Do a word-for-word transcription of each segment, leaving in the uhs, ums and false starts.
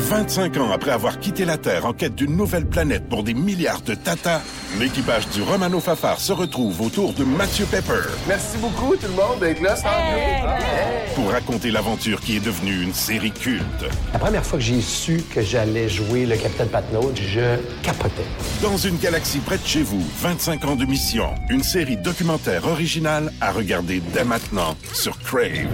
vingt-cinq ans après avoir quitté la Terre en quête d'une nouvelle planète pour des milliards de tatas, l'équipage du Romano Fafard se retrouve autour de Mathieu Pepper. Merci beaucoup tout le monde d'être là. Hey, hey. Pour raconter l'aventure qui est devenue une série culte. La première fois que j'ai su que j'allais jouer le Capitaine Patnaud, je capotais. Dans une galaxie près de chez vous, vingt-cinq ans de mission. Une série documentaire originale à regarder dès maintenant sur Crave.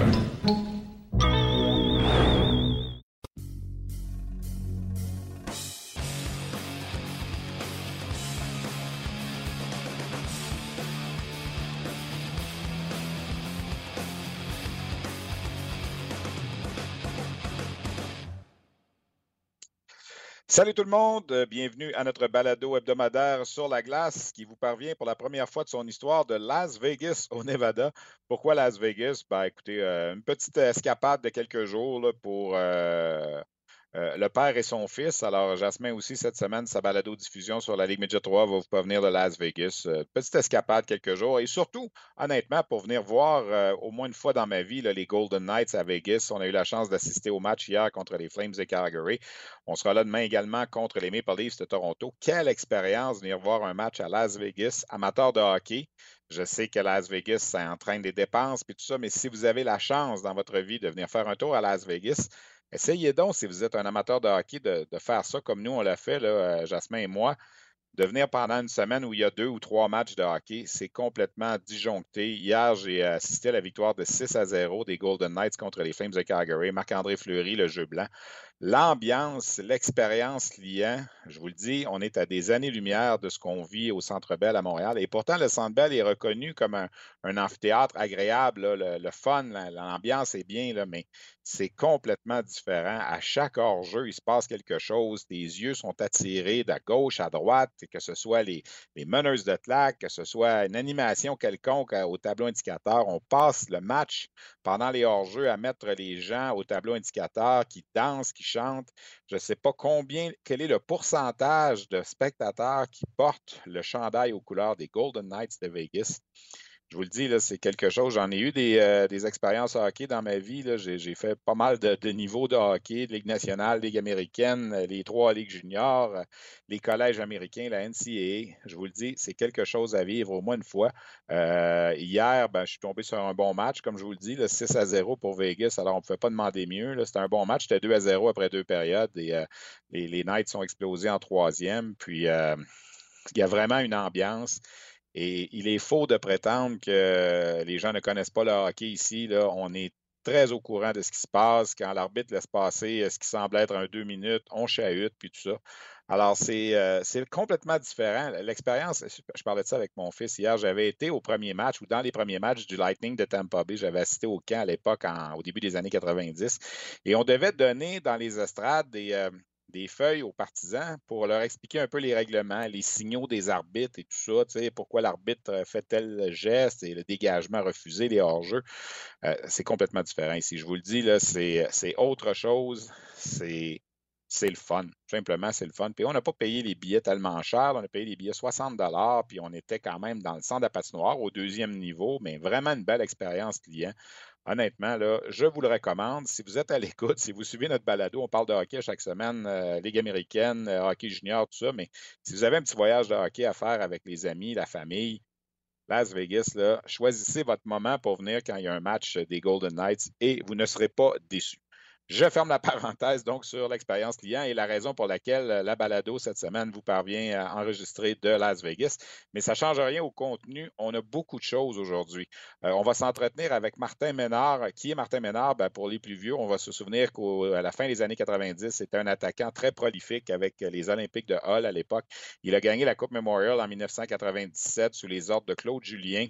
Salut tout le monde, bienvenue à notre balado hebdomadaire sur la glace qui vous parvient pour la première fois de son histoire de Las Vegas au Nevada. Pourquoi Las Vegas? Ben, écoutez, euh, une petite escapade de quelques jours là, pour euh, euh, le père et son fils. Alors, Jasmin aussi, cette semaine, sa balado-diffusion sur la Ligue Midget trois va vous parvenir de Las Vegas. Euh, petite escapade quelques jours et surtout, honnêtement, pour venir voir euh, au moins une fois dans ma vie là, les Golden Knights à Vegas. On a eu la chance d'assister au match hier contre les Flames de Calgary. On sera là demain également contre les Maple Leafs de Toronto. Quelle expérience venir voir un match à Las Vegas, amateur de hockey. Je sais que Las Vegas, ça entraîne des dépenses et tout ça, mais si vous avez la chance dans votre vie de venir faire un tour à Las Vegas, essayez donc, si vous êtes un amateur de hockey, de, de faire ça comme nous, on l'a fait, là, Jasmin et moi, de venir pendant une semaine où il y a deux ou trois matchs de hockey. C'est complètement disjoncté. Hier, j'ai assisté à la victoire de six à zéro des Golden Knights contre les Flames de Calgary. Marc-André Fleury, le jeu blanc. L'ambiance, l'expérience client, je vous le dis, on est à des années-lumière de ce qu'on vit au Centre Bell à Montréal. Et pourtant, le Centre Bell est reconnu comme un, un amphithéâtre agréable. Là, le, le fun, l'ambiance est bien, là, mais c'est complètement différent. À chaque hors-jeu, il se passe quelque chose. Tes yeux sont attirés de gauche à droite, que ce soit les, les meneuses de claque, que ce soit une animation quelconque au tableau indicateur. On passe le match pendant les hors-jeux à mettre les gens au tableau indicateur qui dansent, qui chantent. Je ne sais pas combien, quel est le pourcentage de spectateurs qui portent le chandail aux couleurs des Golden Knights de Vegas. Je vous le dis, là, c'est quelque chose. J'en ai eu des, euh, des expériences hockey dans ma vie. Là. J'ai, j'ai fait pas mal de, de niveaux de hockey, de Ligue nationale, Ligue américaine, les trois Ligues juniors, les collèges américains, la N C A A. Je vous le dis, c'est quelque chose à vivre au moins une fois. Euh, hier, ben, je suis tombé sur un bon match, comme je vous le dis, là, six à zéro pour Vegas. Alors, on ne pouvait pas demander mieux. Là. C'était un bon match. C'était deux à zéro après deux périodes. Et euh, les, les Knights sont explosés en troisième. Puis, euh, il y a vraiment une ambiance. Et il est faux de prétendre que les gens ne connaissent pas le hockey ici. Là. On est très au courant de ce qui se passe. Quand l'arbitre laisse passer ce qui semble être un deux minutes, on chahute, puis tout ça. Alors, c'est, euh, c'est complètement différent. L'expérience, je parlais de ça avec mon fils hier, j'avais été au premier match ou dans les premiers matchs du Lightning de Tampa Bay. J'avais assisté au camp à l'époque, en, au début des années quatre-vingt-dix. Et on devait donner dans les estrades des... Euh, des feuilles aux partisans pour leur expliquer un peu les règlements, les signaux des arbitres et tout ça, tu sais, pourquoi l'arbitre fait tel geste et le dégagement refusé, les hors-jeux. Euh, c'est complètement différent ici. Je vous le dis, là, c'est, c'est autre chose. C'est, c'est le fun. Simplement, c'est le fun. Puis on n'a pas payé les billets tellement cher. On a payé les billets soixante dollars, puis on était quand même dans le centre de la patinoire au deuxième niveau, mais vraiment une belle expérience client. Honnêtement, là, je vous le recommande. Si vous êtes à l'écoute, si vous suivez notre balado, on parle de hockey chaque semaine, euh, Ligue américaine, euh, hockey junior, tout ça, mais si vous avez un petit voyage de hockey à faire avec les amis, la famille, Las Vegas, là, choisissez votre moment pour venir quand il y a un match des Golden Knights et vous ne serez pas déçus. Je ferme la parenthèse donc sur l'expérience client et la raison pour laquelle la balado cette semaine vous parvient à enregistrer de Las Vegas. Mais ça ne change rien au contenu. On a beaucoup de choses aujourd'hui. Euh, on va s'entretenir avec Martin Ménard. Qui est Martin Ménard? Ben, pour les plus vieux, on va se souvenir qu'à la fin des années quatre-vingt-dix, c'était un attaquant très prolifique avec les Olympiques de Hull à l'époque. Il a gagné la Coupe Memorial en dix-neuf cent quatre-vingt-dix-sept sous les ordres de Claude Julien.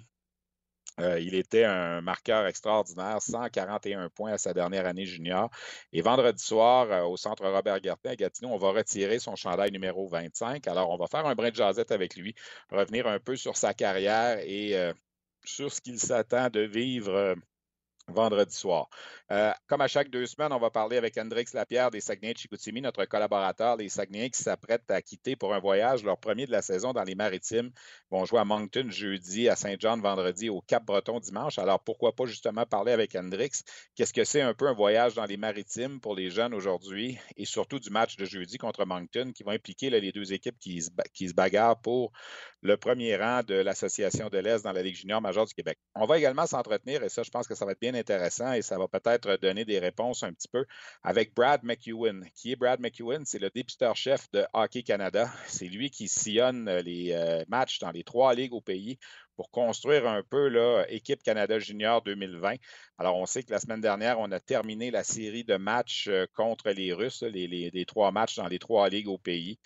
Euh, il était un marqueur extraordinaire, cent quarante et un points à sa dernière année junior. Et vendredi soir, euh, au centre Robert Gartin à Gatineau, on va retirer son chandail numéro vingt-cinq. Alors, on va faire un brin de jasette avec lui, revenir un peu sur sa carrière et euh, sur ce qu'il s'attend de vivre euh, vendredi soir. Euh, comme à chaque deux semaines, on va parler avec Hendrix Lapierre des Saguenay de Chicoutimi, notre collaborateur, les Saguenayens qui s'apprêtent à quitter pour un voyage, leur premier de la saison dans les Maritimes. Ils vont jouer à Moncton jeudi, à Saint-John vendredi, au Cap-Breton dimanche. Alors pourquoi pas justement parler avec Hendrix? Qu'est-ce que c'est un peu un voyage dans les Maritimes pour les jeunes aujourd'hui et surtout du match de jeudi contre Moncton qui va impliquer là, les deux équipes qui se, qui se bagarrent pour le premier rang de l'Association de l'Est dans la Ligue junior majeure du Québec. On va également s'entretenir, et ça, je pense que ça va être bien intéressant et ça va peut-être donner des réponses un petit peu avec Brad McEwen. Qui est Brad McEwen? C'est le dépisteur-chef de Hockey Canada. C'est lui qui sillonne les euh, matchs dans les trois ligues au pays pour construire un peu là, Équipe Canada Junior deux mille vingt. Alors, on sait que la semaine dernière, on a terminé la série de matchs contre les Russes, les, les, les trois matchs dans les trois ligues au pays.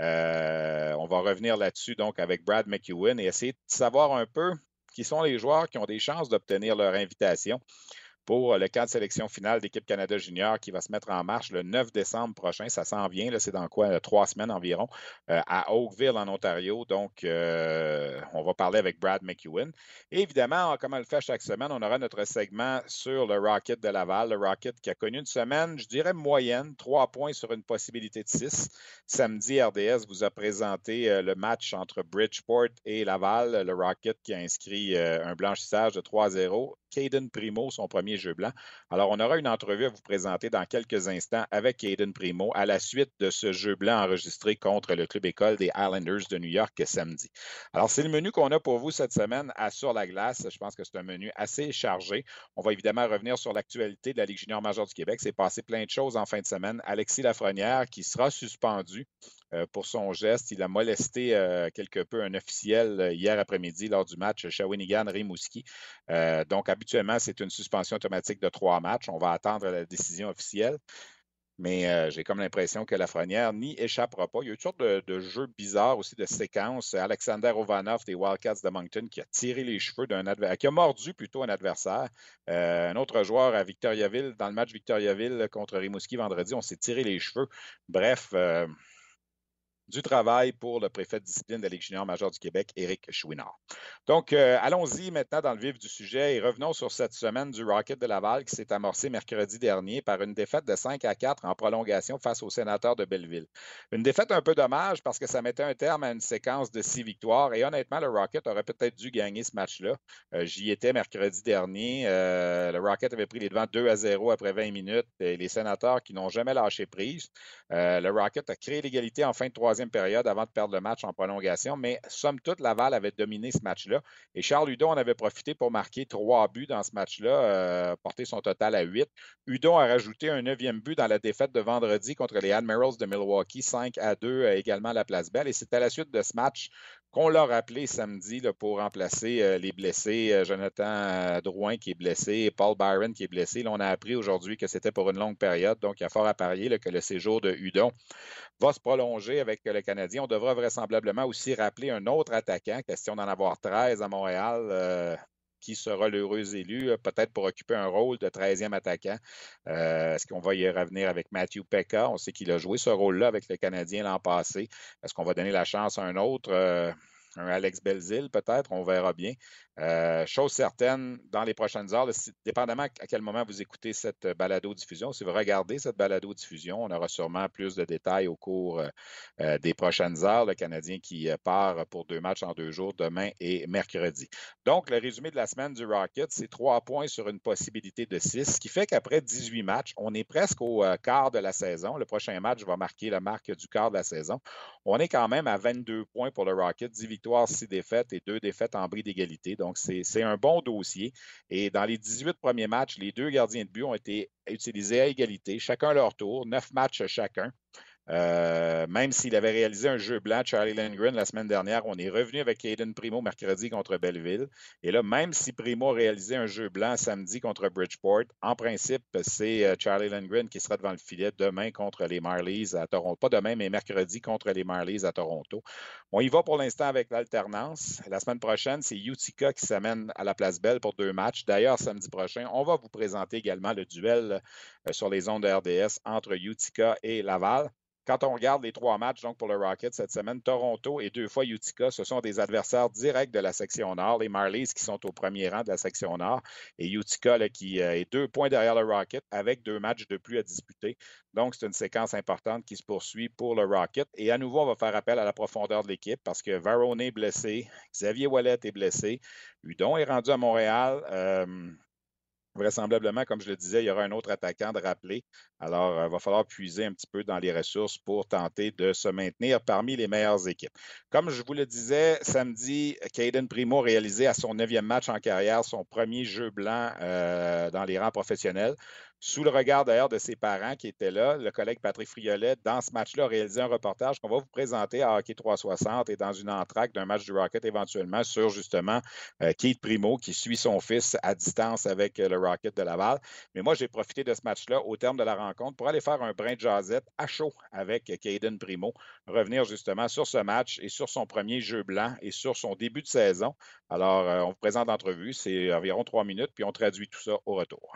Euh, on va revenir là-dessus donc avec Brad McEwen et essayer de savoir un peu qui sont les joueurs qui ont des chances d'obtenir leur invitation pour le camp de sélection finale d'Équipe Canada Junior qui va se mettre en marche le neuf décembre prochain. Ça s'en vient, là, c'est dans quoi, trois semaines environ, euh, à Oakville, en Ontario. Donc, euh, on va parler avec Brad McEwen. Et évidemment, comme on le fait chaque semaine, on aura notre segment sur le Rocket de Laval. Le Rocket qui a connu une semaine, je dirais moyenne, trois points sur une possibilité de six. Samedi, R D S vous a présenté euh, le match entre Bridgeport et Laval. Le Rocket qui a inscrit euh, un blanchissage de trois à zéro. Caden Primo, son premier jeu blanc. Alors, on aura une entrevue à vous présenter dans quelques instants avec Caden Primo à la suite de ce jeu blanc enregistré contre le club école des Islanders de New York samedi. Alors, c'est le menu qu'on a pour vous cette semaine à Sur la glace. Je pense que c'est un menu assez chargé. On va évidemment revenir sur l'actualité de la Ligue junior majeure du Québec. C'est passé plein de choses en fin de semaine. Alexis Lafrenière qui sera suspendu euh, pour son geste. Il a molesté euh, quelque peu un officiel euh, hier après-midi lors du match Shawinigan-Rimouski. Euh, donc, habituellement, c'est une suspension automatique de trois matchs. On va attendre la décision officielle. Mais euh, j'ai comme l'impression que Lafrenière n'y échappera pas. Il y a eu toutes sortes de, de jeux bizarres aussi, de séquences. Alexander Ovanov des Wildcats de Moncton qui a tiré les cheveux d'un adversaire, qui a mordu plutôt un adversaire. Euh, un autre joueur à Victoriaville, dans le match Victoriaville contre Rimouski vendredi, on s'est tiré les cheveux. Bref, euh, du travail pour le préfet de discipline de la Ligue junior majeure du Québec, Éric Chouinard. Donc, euh, allons-y maintenant dans le vif du sujet et revenons sur cette semaine du Rocket de Laval qui s'est amorcée mercredi dernier par une défaite de cinq à quatre en prolongation face aux Sénateurs de Belleville. Une défaite un peu dommage parce que ça mettait un terme à une séquence de six victoires et honnêtement, le Rocket aurait peut-être dû gagner ce match-là. Euh, j'y étais mercredi dernier. Euh, le Rocket avait pris les devants deux à zéro après vingt minutes et les Sénateurs qui n'ont jamais lâché prise. Euh, le Rocket a créé l'égalité en fin de troisième période avant de perdre le match en prolongation, mais somme toute, Laval avait dominé ce match-là et Charles Hudon en avait profité pour marquer trois buts dans ce match-là, euh, porter son total à huit. Hudon a rajouté un neuvième but dans la défaite de vendredi contre les Admirals de Milwaukee, cinq à deux euh, également à la Place Belle et c'est à la suite de ce match qu'on l'a rappelé samedi là, pour remplacer euh, les blessés, euh, Jonathan euh, Drouin qui est blessé, Paul Byron qui est blessé. Là, on a appris aujourd'hui que c'était pour une longue période, donc il y a fort à parier là, que le séjour de Hudon va se prolonger avec le Canadien. On devra vraisemblablement aussi rappeler un autre attaquant, question d'en avoir treize à Montréal, euh, qui sera l'heureux élu, peut-être pour occuper un rôle de treizième attaquant. Euh, est-ce qu'on va y revenir avec Matthew Pekka? On sait qu'il a joué ce rôle-là avec le Canadien l'an passé. Est-ce qu'on va donner la chance à un autre? Euh, un Alex Belzile, peut-être, on verra bien. Euh, chose certaine, dans les prochaines heures, là, dépendamment à quel moment vous écoutez cette balado-diffusion, si vous regardez cette balado-diffusion, on aura sûrement plus de détails au cours euh, des prochaines heures. Le Canadien qui euh, part pour deux matchs en deux jours, demain et mercredi. Donc, le résumé de la semaine du Rocket, c'est trois points sur une possibilité de six, ce qui fait qu'après dix-huit matchs, on est presque au euh, quart de la saison. Le prochain match va marquer la marque du quart de la saison. On est quand même à vingt-deux points pour le Rocket, dix victoires, six défaites et deux défaites en bris d'égalité. Donc, c'est, c'est un bon dossier. Et dans les dix-huit premiers matchs, les deux gardiens de but ont été utilisés à égalité, chacun leur tour, neuf matchs chacun. Euh, même s'il avait réalisé un jeu blanc, Charlie Lindgren, la semaine dernière, on est revenu avec Caden Primo mercredi contre Belleville. Et là, même si Primo a réalisé un jeu blanc samedi contre Bridgeport, en principe, c'est Charlie Lindgren qui sera devant le filet demain contre les Marlies à Toronto. Pas demain, mais mercredi contre les Marlies à Toronto. On y va pour l'instant avec l'alternance. La semaine prochaine, c'est Utica qui s'amène à la Place Belle pour deux matchs. D'ailleurs, samedi prochain, on va vous présenter également le duel sur les ondes de R D S entre Utica et Laval. quand on regarde les trois matchs donc pour le Rocket cette semaine, Toronto et deux fois Utica, ce sont des adversaires directs de la section Nord. Les Marlies qui sont au premier rang de la section Nord et Utica là, qui euh, est deux points derrière le Rocket avec deux matchs de plus à disputer. Donc, c'est une séquence importante qui se poursuit pour le Rocket. Et à nouveau, on va faire appel à la profondeur de l'équipe parce que Varone est blessé, Xavier Ouellet est blessé, Hudon est rendu à Montréal. Euh, Vraisemblablement, comme je le disais, il y aura un autre attaquant de rappeler. Alors, il euh, va falloir puiser un petit peu dans les ressources pour tenter de se maintenir parmi les meilleures équipes. Comme je vous le disais, samedi, Caden Primo réalisé à son neuvième match en carrière, son premier jeu blanc euh, dans les rangs professionnels. Sous le regard d'ailleurs de ses parents qui étaient là, le collègue Patrick Friolet, dans ce match-là, a réalisé un reportage qu'on va vous présenter à Hockey trois cent soixante et dans une entracte d'un match du Rocket éventuellement sur justement euh, Keith Primo qui suit son fils à distance avec euh, le Rocket de Laval. Mais moi, j'ai profité de ce match-là au terme de la rencontre pour aller faire un brin de jasette à chaud avec Caden Primo, revenir justement sur ce match et sur son premier jeu blanc et sur son début de saison. Alors, euh, on vous présente l'entrevue, c'est environ trois minutes, puis on traduit tout ça au retour.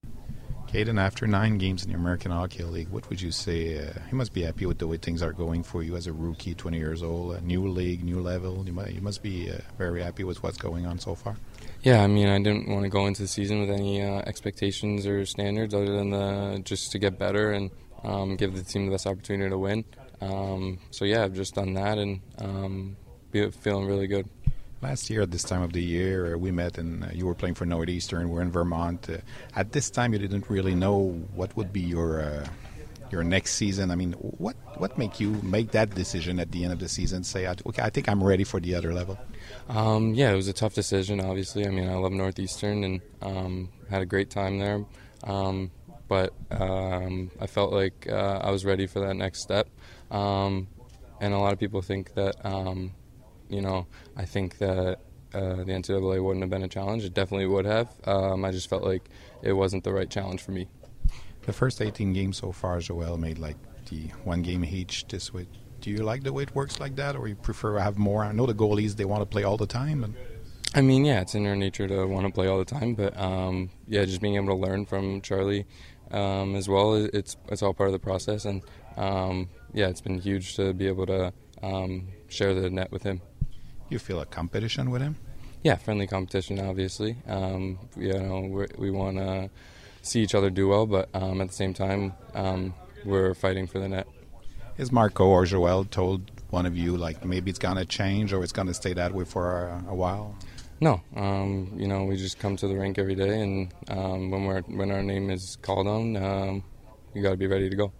Caden, after nine games in the American Hockey League, what would you say? Uh, you must be happy with the way things are going for you as a rookie, twenty years old, a new league, new level. You must, you must be uh, very happy with what's going on so far. Yeah, I mean, I didn't want to go into the season with any uh, expectations or standards other than the, just to get better and um, give the team the best opportunity to win. Um, so yeah, I've just done that and um, be, feeling really good. Last year at this time of the year, uh, we met and uh, you were playing for Northeastern. We're in Vermont. Uh, at this time, you didn't really know what would be your uh, your next season. I mean, what what make you make that decision at the end of the season? Say, okay, I think I'm ready for the other level. Um, yeah, it was a tough decision. Obviously, I mean, I love Northeastern and um, had a great time there. Um, but um, I felt like uh, I was ready for that next step. Um, and a lot of people think that. Um, You know, I think that uh, the N C double A wouldn't have been a challenge. It definitely would have. Um, I just felt like it wasn't the right challenge for me. The first eighteen games so far, Joel made like the one game each this week. Do you like the way it works like that, or you prefer to have more? I know the goalies, they want to play all the time. And I mean, yeah, it's in their nature to want to play all the time. But, um, yeah, just being able to learn from Charlie um, as well, it's it's all part of the process. And, um, yeah, it's been huge to be able to um, share the net with him. You feel a competition with him? Yeah, friendly competition, obviously. Um, you know, we're, we want to see each other do well, but um, at the same time, um, we're fighting for the net. Is Marco or Joel told one of you, like, maybe it's going to change or it's going to stay that way for a, a while? No. Um, you know, we just come to the rink every day, and um, when we're when our name is called on, um, you got to be ready to go.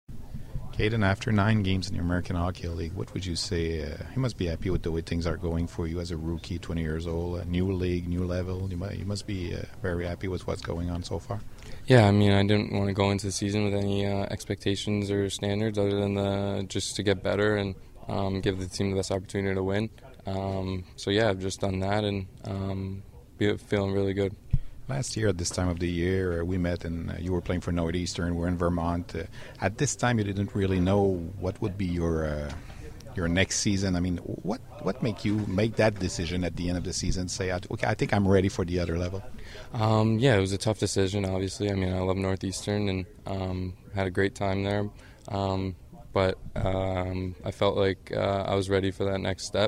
Caden, after nine games in the American Hockey League, what would you say? Uh, you must be happy with the way things are going for you as a rookie, twenty years old, a new league, new level. You must, you must be uh, very happy with what's going on so far. Yeah, I mean, I didn't want to go into the season with any uh, expectations or standards other than the, just to get better and um, give the team the best opportunity to win. Um, so yeah, I've just done that and um, be, feeling really good. Last year at this time of the year, uh, we met and uh, you were playing for Northeastern. We're in Vermont. Uh, at this time, you didn't really know what would be your uh, your next season. I mean, what what make you make that decision at the end of the season? Say, okay, I think I'm ready for the other level. Um, yeah, it was a tough decision. Obviously, I mean, I love Northeastern and um, had a great time there. Um, but um, I felt like uh, I was ready for that next step.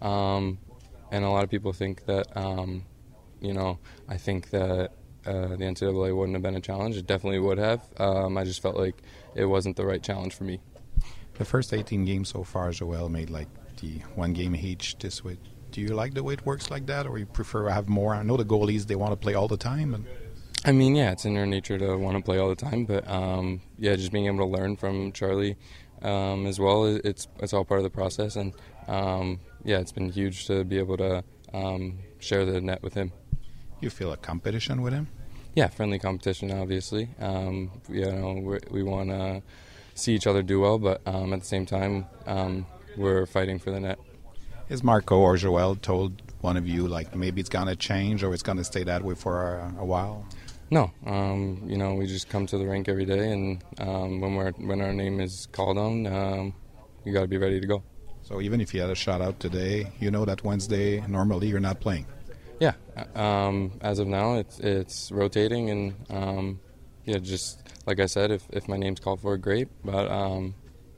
Um, and a lot of people think that. Um, You know, I think that uh, the N C double A wouldn't have been a challenge. It definitely would have. Um, I just felt like it wasn't the right challenge for me. The first eighteen games so far, Joel made like the one game each this week. Do you like the way it works like that, or you prefer to have more? I know the goalies, they want to play all the time. And I mean, yeah, it's in their nature to want to play all the time. But, um, yeah, just being able to learn from Charlie um, as well, it's it's all part of the process. And, um, yeah, it's been huge to be able to um, share the net with him. You feel a competition with him? Yeah, friendly competition, obviously. Um, you know, we're, we want to see each other do well, but um, at the same time, um, we're fighting for the net. Is Marco or Joel told one of you, like, maybe it's going to change or it's going to stay that way for a, a while? No. Um, you know, we just come to the rink every day, and um, when we're when our name is called on, um, you got to be ready to go. So even if you had a shutout today, you know that Wednesday, normally you're not playing? Yeah, um, as of now, it's it's rotating, and um, yeah, just like I said, if, if my name's called for, great. But um,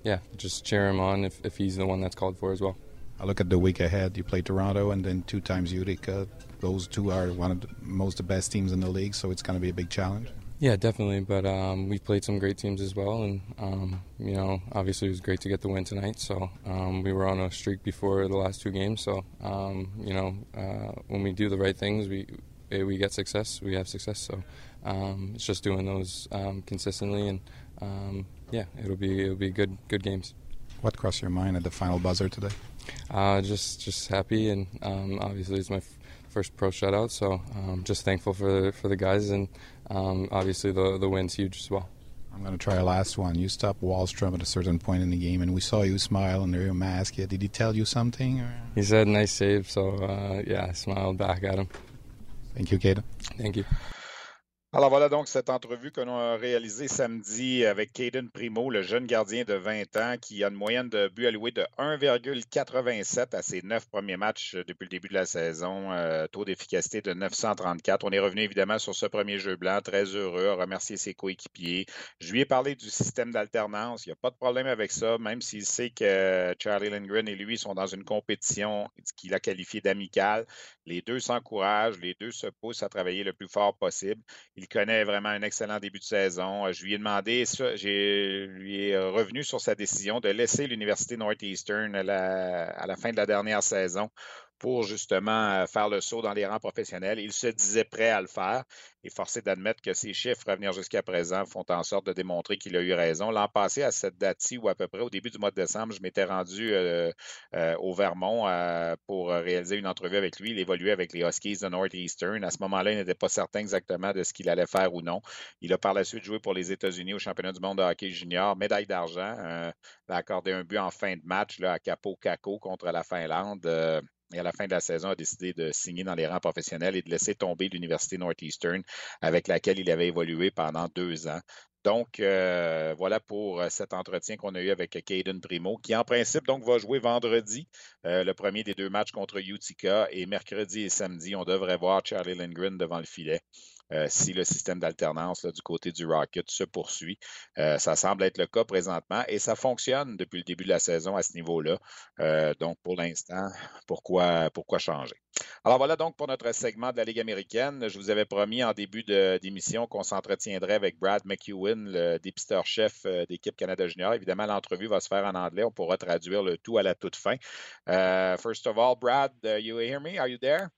yeah, just cheer him on if, if he's the one that's called for as well. I look at the week ahead. You play Toronto and then two times Utica. Those two are one of the most the best teams in the league, so it's going to be a big challenge. Yeah, definitely. But um, we've played some great teams as well, and um, you know, obviously it was great to get the win tonight. So um, we were on a streak before the last two games. So um, you know, uh, when we do the right things, we we get success. We have success. So um, it's just doing those um, consistently, and um, yeah, it'll be it'll be good good games. What crossed your mind at the final buzzer today? Uh, just just happy, and um, obviously it's my f- first pro shutout, so um, just thankful for for the guys, and um, obviously the the win's huge as well. I'm going to try a last one. You stopped Wallstrom at a certain point in the game, and we saw you smile under your mask. Did he tell you something? Or? He said nice save, so uh, yeah, I smiled back at him. Thank you, Caden. Thank you. Alors voilà donc cette entrevue que l'on a réalisée samedi avec Caden Primo, le jeune gardien de vingt ans qui a une moyenne de buts alloués de un virgule quatre-vingt-sept à ses neuf premiers matchs depuis le début de la saison, euh, taux d'efficacité de neuf cent trente-quatre. On est revenu évidemment sur ce premier jeu blanc, très heureux, a remercié ses coéquipiers. Je lui ai parlé du système d'alternance, il n'y a pas de problème avec ça, même s'il sait que Charlie Lindgren et lui sont dans une compétition qu'il a qualifiée d'amicale. Les deux s'encouragent, les deux se poussent à travailler le plus fort possible. Il connaît vraiment un excellent début de saison. Je lui ai demandé, ça, j'ai, lui ai revenu sur sa décision de laisser l'Université Northeastern à la, à la fin de la dernière saison pour justement faire le saut dans les rangs professionnels. Il se disait prêt à le faire et forcé d'admettre que ses chiffres à venir jusqu'à présent font en sorte de démontrer qu'il a eu raison. L'an passé, à cette date-ci, ou à peu près au début du mois de décembre, je m'étais rendu euh, euh, au Vermont euh, pour réaliser une entrevue avec lui. Il évoluait avec les Huskies de Northeastern. À ce moment-là, il n'était pas certain exactement de ce qu'il allait faire ou non. Il a par la suite joué pour les États-Unis au championnat du monde de hockey junior, médaille d'argent. Euh, il a accordé un but en fin de match là, à Capo Caco contre la Finlande. Euh, Et à la fin de la saison, a décidé de signer dans les rangs professionnels et de laisser tomber l'Université Northeastern avec laquelle il avait évolué pendant deux ans. Donc, euh, voilà pour cet entretien qu'on a eu avec Caden Primo, qui en principe donc va jouer vendredi, euh, le premier des deux matchs contre Utica, et mercredi et samedi, on devrait voir Charlie Lindgren devant le filet. Euh, si le système d'alternance là, du côté du Rocket se poursuit. Euh, ça semble être le cas présentement et ça fonctionne depuis le début de la saison à ce niveau-là. Euh, donc, pour l'instant, pourquoi, pourquoi changer? Alors voilà donc pour notre segment de la Ligue américaine. Je vous avais promis en début de, d'émission qu'on s'entretiendrait avec Brad McEwen, le dépisteur-chef d'équipe Canada Junior. Évidemment, l'entrevue va se faire en anglais. On pourra traduire le tout à la toute fin. Uh, first of all, Brad, uh, you hear me? Are you there?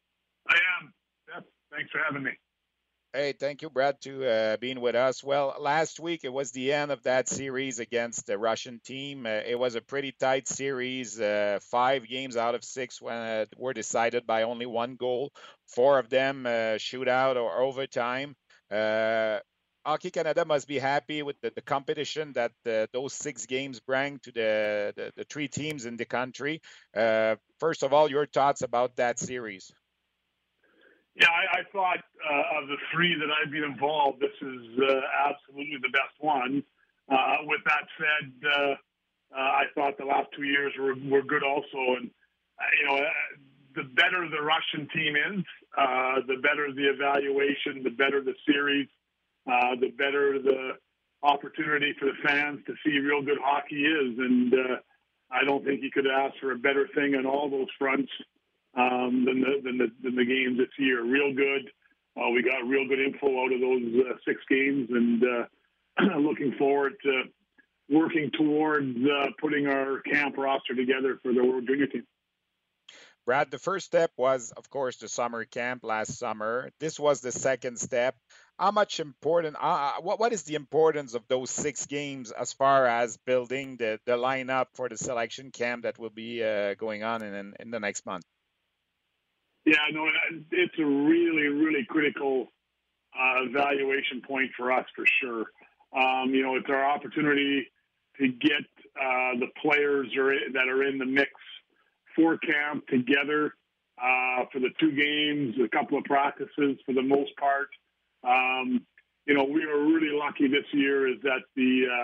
I am. Yep. Thanks for having me. Hey, thank you, Brad, to uh, being with us. Well, last week it was the end of that series against the Russian team. Uh, it was a pretty tight series. Uh, five games out of six when, uh, were decided by only one goal. Four of them uh, shootout or overtime. Uh, Hockey Canada must be happy with the, the competition that uh, those six games bring to the, the, the three teams in the country. Uh, first of all, your thoughts about that series? Yeah, I, I thought uh, of the three that I've been involved, this is uh, absolutely the best one. Uh, with that said, uh, uh, I thought the last two years were, were good also. And, uh, you know, uh, the better the Russian team is, uh, the better the evaluation, the better the series, uh, the better the opportunity for the fans to see real good hockey is. And uh, I don't think you could ask for a better thing on all those fronts. Um, than, the, than, the, than the games this year. Real good. Uh, we got real good info out of those uh, six games, and uh, looking forward to working towards uh, putting our camp roster together for the World Junior team. Brad, the first step was, of course, the summer camp last summer. This was the second step. How much important, uh, what, what is the importance of those six games as far as building the, the lineup for the selection camp that will be uh, going on in, in the next month? Yeah, no, it's a really, really critical uh, evaluation point for us for sure. Um, you know, it's our opportunity to get uh, the players are, that are in the mix for camp together uh, for the two games, a couple of practices for the most part. Um, you know, we were really lucky this year is that the uh,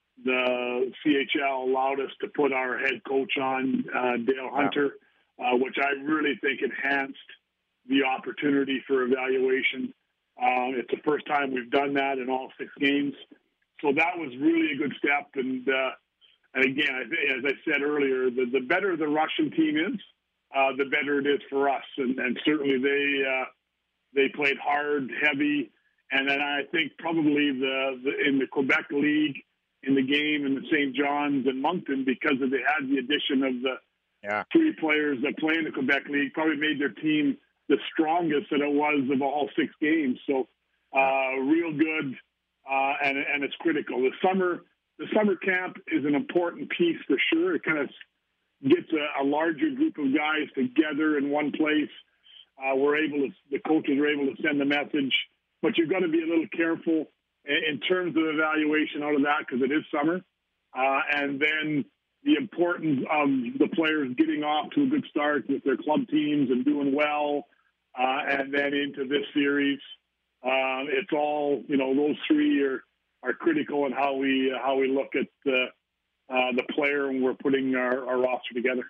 the C H L allowed us to put our head coach on, uh, Dale Hunter. Yeah. Uh, which I really think enhanced the opportunity for evaluation. Uh, it's the first time we've done that in all six games. So that was really a good step. And, uh, and again, as I said earlier, the, the better the Russian team is, uh, the better it is for us. And, and certainly they uh, they played hard, heavy, and then I think probably the, the in the Quebec League, in the game in the Saint John's and Moncton, because of they had the addition of the yeah. three players that play in the Quebec League, probably made their team the strongest that it was of all six games. So uh, real good, uh, and and it's critical. The summer the summer camp is an important piece for sure. It kind of gets a, a larger group of guys together in one place. Uh, we're able to the coaches are able to send a message, but you've got to be a little careful in terms of evaluation out of that, because it is summer. Uh, and then the importance of the players getting off to a good start with their club teams and doing well, uh, and then into this series. Uh, it's all, you know, those three are, are critical in how we uh, how we look at uh, uh, the player when we're putting our, our roster together.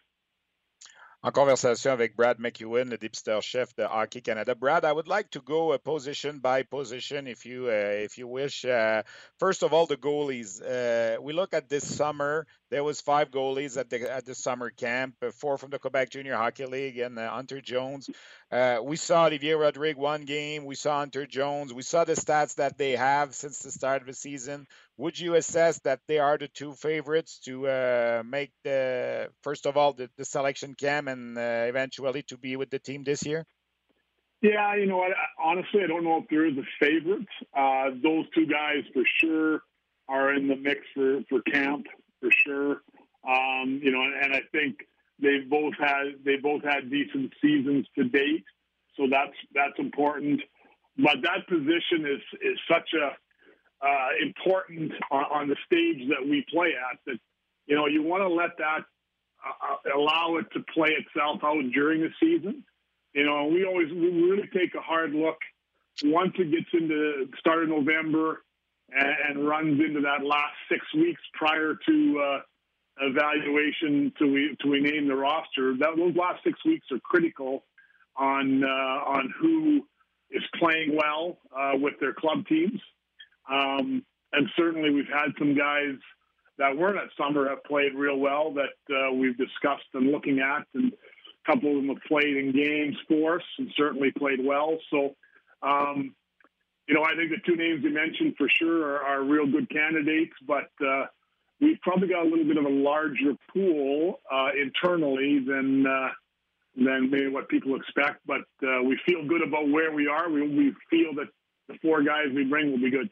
En conversation avec Brad McEwen, le dépisteur-chef de Hockey Canada. Brad, I would like to go uh, position by position, if you uh, if you wish. Uh, first of all, the goalies. Uh, we look at this summer. There was five goalies at the at the summer camp, uh, four from the Quebec Junior Hockey League, and uh, Hunter Jones. Uh, we saw Olivier Rodrigue one game. We saw Hunter Jones. We saw the stats that they have since the start of the season. Would you assess that they are the two favorites to uh, make the, first of all, the, the selection camp and uh, eventually to be with the team this year? Yeah, you know what? Honestly, I don't know if there is a favorite. Uh, those two guys for sure are in the mix for, for camp, for sure. Um, you know, and, and I think they've both had they both had decent seasons to date, so that's that's important. But that position is is such a Uh, important on, on the stage that we play at, that, you know, you want to let that uh, allow it to play itself out during the season. You know, we always we really take a hard look once it gets into start of November and, and runs into that last six weeks prior to uh, evaluation to we to we name the roster. That those last six weeks are critical on uh, on who is playing well uh, with their club teams. Um, and certainly we've had some guys that weren't at summer have played real well that uh, we've discussed and looking at, and a couple of them have played in games for us and certainly played well. So, um, you know, I think the two names you mentioned for sure are, are real good candidates, but uh, we've probably got a little bit of a larger pool uh, internally than uh, than maybe what people expect. But uh, we feel good about where we are. We, we feel that the four guys we bring will be good.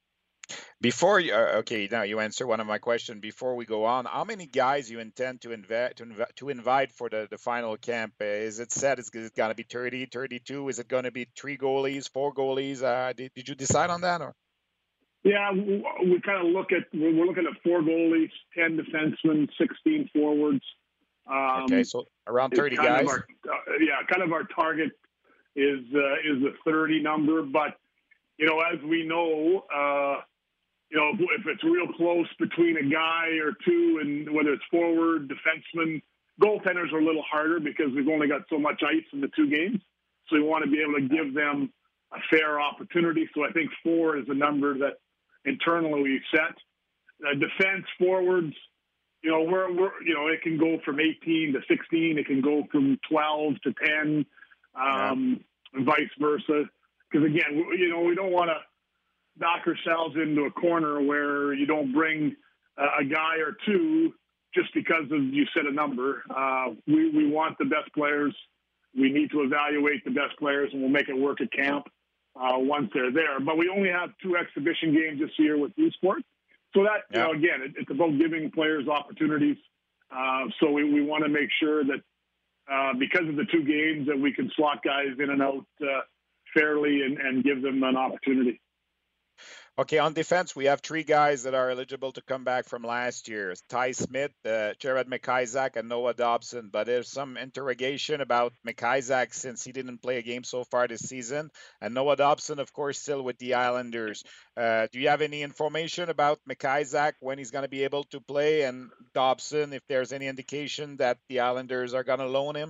Before you, uh, okay, now you answer one of my questions. Before we go on, how many guys you intend to invite to, inv- to invite for the, the final camp? Uh, is it set? Is it going to be thirty, thirty-two? Is it going to be three goalies, four goalies? Uh, did, did you decide on that? Or? Yeah, we, we kind of look at we're looking at four goalies, ten defensemen, sixteen forwards. Um, okay, so around thirty guys. Our, uh, yeah, kind of our target is uh, is the thirty number, but you know, as we know. Uh, You know, if it's real close between a guy or two, and whether it's forward, defenseman, goaltenders are a little harder because we've only got so much ice in the two games. So we want to be able to give them a fair opportunity. So I think four is a number that internally we set. Uh, defense forwards, you know, we're, we're, you know, it can go from eighteen to sixteen. It can go from twelve to ten, um, yeah. and vice versa. Because again, you know, we don't want to knock ourselves into a corner where you don't bring uh, a guy or two just because of you set a number. Uh, we, we want the best players. We need to evaluate the best players, and we'll make it work at camp uh, once they're there. But we only have two exhibition games this year with U Sport. So that, yeah. you know, again, it, it's about giving players opportunities. Uh, so we, we want to make sure that uh, because of the two games that we can slot guys in and out uh, fairly and, and give them an opportunity. Okay, on defense, we have three guys that are eligible to come back from last year. Ty Smith, uh, Jared McIsaac, and Noah Dobson. But there's some interrogation about McIsaac since he didn't play a game so far this season. And Noah Dobson, of course, still with the Islanders. Uh, do you have any information about McIsaac, when he's going to be able to play? And Dobson, if there's any indication that the Islanders are going to loan him?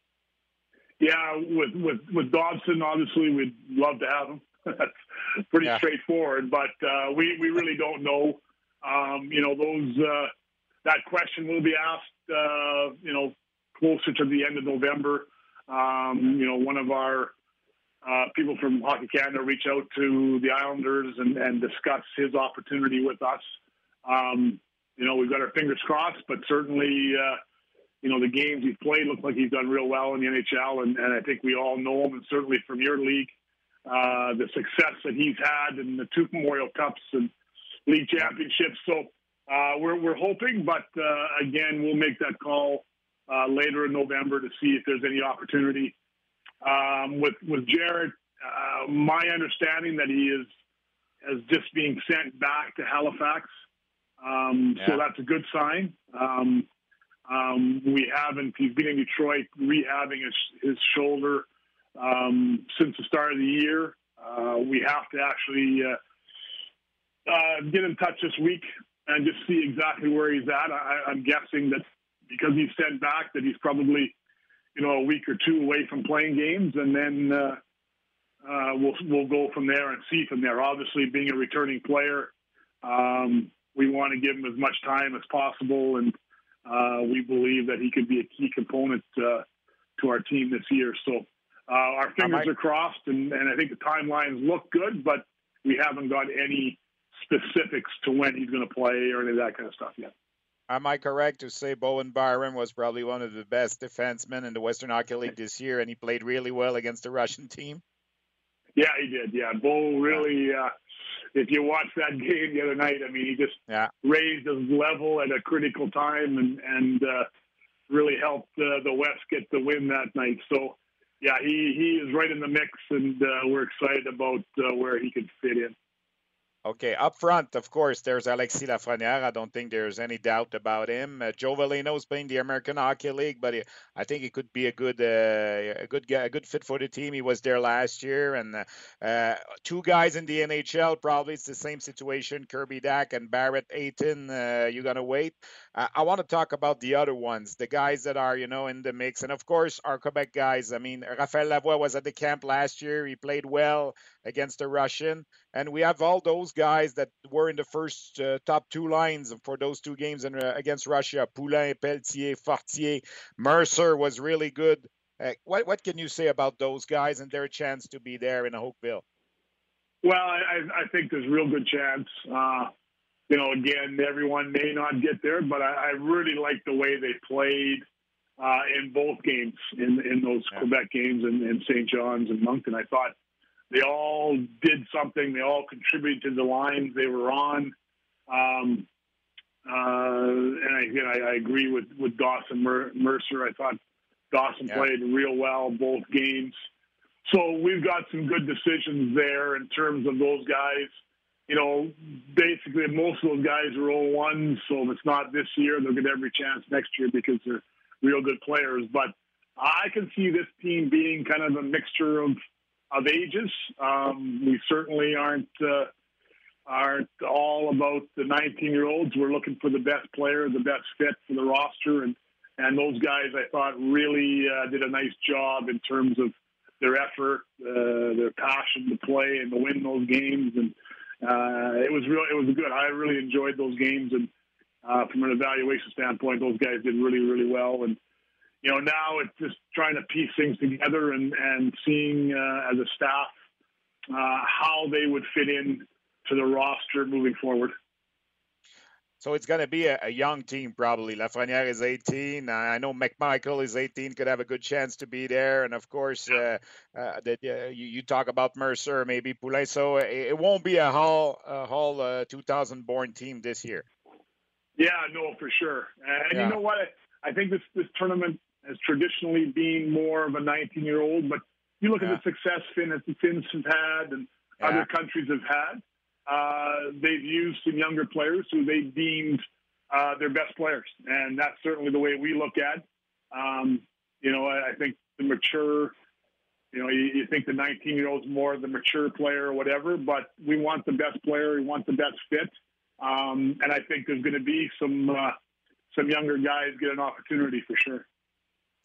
Yeah, with, with, with Dobson, obviously, we'd love to have him. That's pretty yeah. straightforward, but uh, we, we really don't know. Um, you know, those uh, that question will be asked, uh, you know, closer to the end of November. Um, you know, one of our uh, people from Hockey Canada reach out to the Islanders and, and discuss his opportunity with us. Um, you know, we've got our fingers crossed, but certainly, uh, you know, the games he's played look like he's done real well in the N H L, and, and I think we all know him, and certainly from your league, uh, the success that he's had in the two Memorial Cups and league championships. So uh, we're we're hoping, but uh, again, we'll make that call uh, later in November to see if there's any opportunity. Um, with with Jared, uh, my understanding that he is as just being sent back to Halifax, um, yeah. so that's a good sign. Um, um, we haven't. He's been in Detroit rehabbing his his shoulder um, since the start of the year. Uh, we have to actually uh, uh, get in touch this week and just see exactly where he's at. I, I'm guessing that because he's sent back, that he's probably, you know, a week or two away from playing games, and then uh, uh, we'll we'll go from there and see from there. Obviously, being a returning player, um, we want to give him as much time as possible, and uh, we believe that he could be a key component uh, to our team this year. So uh, our fingers are crossed, and, and I think the timelines look good, but we haven't got any specifics to when he's going to play or any of that kind of stuff yet. Am I correct to say Bowen Byram was probably one of the best defensemen in the Western Hockey League this year, and he played really well against the Russian team? Yeah, he did. Yeah, Bo really, uh, if you watched that game the other night, I mean, he just yeah. raised his level at a critical time and, and uh, really helped uh, the West get the win that night. So, yeah, he, he is right in the mix, and uh, we're excited about uh, where he could fit in. Okay, up front, of course, there's Alexis Lafrenière. I don't think there's any doubt about him. Uh, Joe Veleno is playing the American Hockey League, but he, I think he could be a good, uh, a good, a good fit for the team. He was there last year, and uh, uh, two guys in the N H L. Probably it's the same situation. Kirby Dack and Barrett Ayton. Uh, you're gonna wait. Uh, I want to talk about the other ones, the guys that are, you know, in the mix, and of course our Quebec guys. I mean, Raphaël Lavoie was at the camp last year. He played well against the Russian, and we have all those guys that were in the first uh, top two lines for those two games in, uh, against Russia. Poulin, Pelletier, Fortier, Mercer was really good. Uh, what what can you say about those guys and their chance to be there in Oakville? Well, I, I think there's a real good chance. Uh, you know, again, everyone may not get there, but I, I really like the way they played uh, in both games, in, in those yeah. Quebec games in, in Saint John's and Moncton. I thought they all did something. They all contributed to the lines they were on. Um, uh, and again, I, I agree with, with Dawson Mer- Mercer. I thought Dawson yeah. played real well both games. So we've got some good decisions there in terms of those guys. You know, basically most of those guys are oh one, so if it's not this year, they'll get every chance next year because they're real good players. But I can see this team being kind of a mixture of of ages. Um, we certainly aren't uh, aren't all about the nineteen-year-olds. We're looking for the best player, the best fit for the roster, and and those guys I thought really uh, did a nice job in terms of their effort, uh, their passion to play and to win those games, and uh, it was real. It was good. I really enjoyed those games, and uh, from an evaluation standpoint, those guys did really, really well. And you know, now it's just trying to piece things together and, and seeing uh, as a staff uh, how they would fit in to the roster moving forward. So it's going to be a, a young team probably. Lafrenière is eighteen. I know McMichael is eighteen, could have a good chance to be there. And, of course, uh, uh, that uh, you, you talk about Mercer, maybe Poulin. So it, it won't be a Hall, a Hall uh, two thousand born team this year. Yeah, no, for sure. And yeah. you know what? I think this, this tournament has traditionally been more of a nineteen-year-old, but you look yeah. at the success Finn, the Finns have had and yeah. other countries have had. Uh, they've used some younger players who they deemed uh, their best players, and that's certainly the way we look at. Um, you know, I, I think the mature, you know, you, you think the nineteen-year-old's more the mature player or whatever, but we want the best player, we want the best fit, um, and I think there's going to be some uh, some younger guys get an opportunity for sure.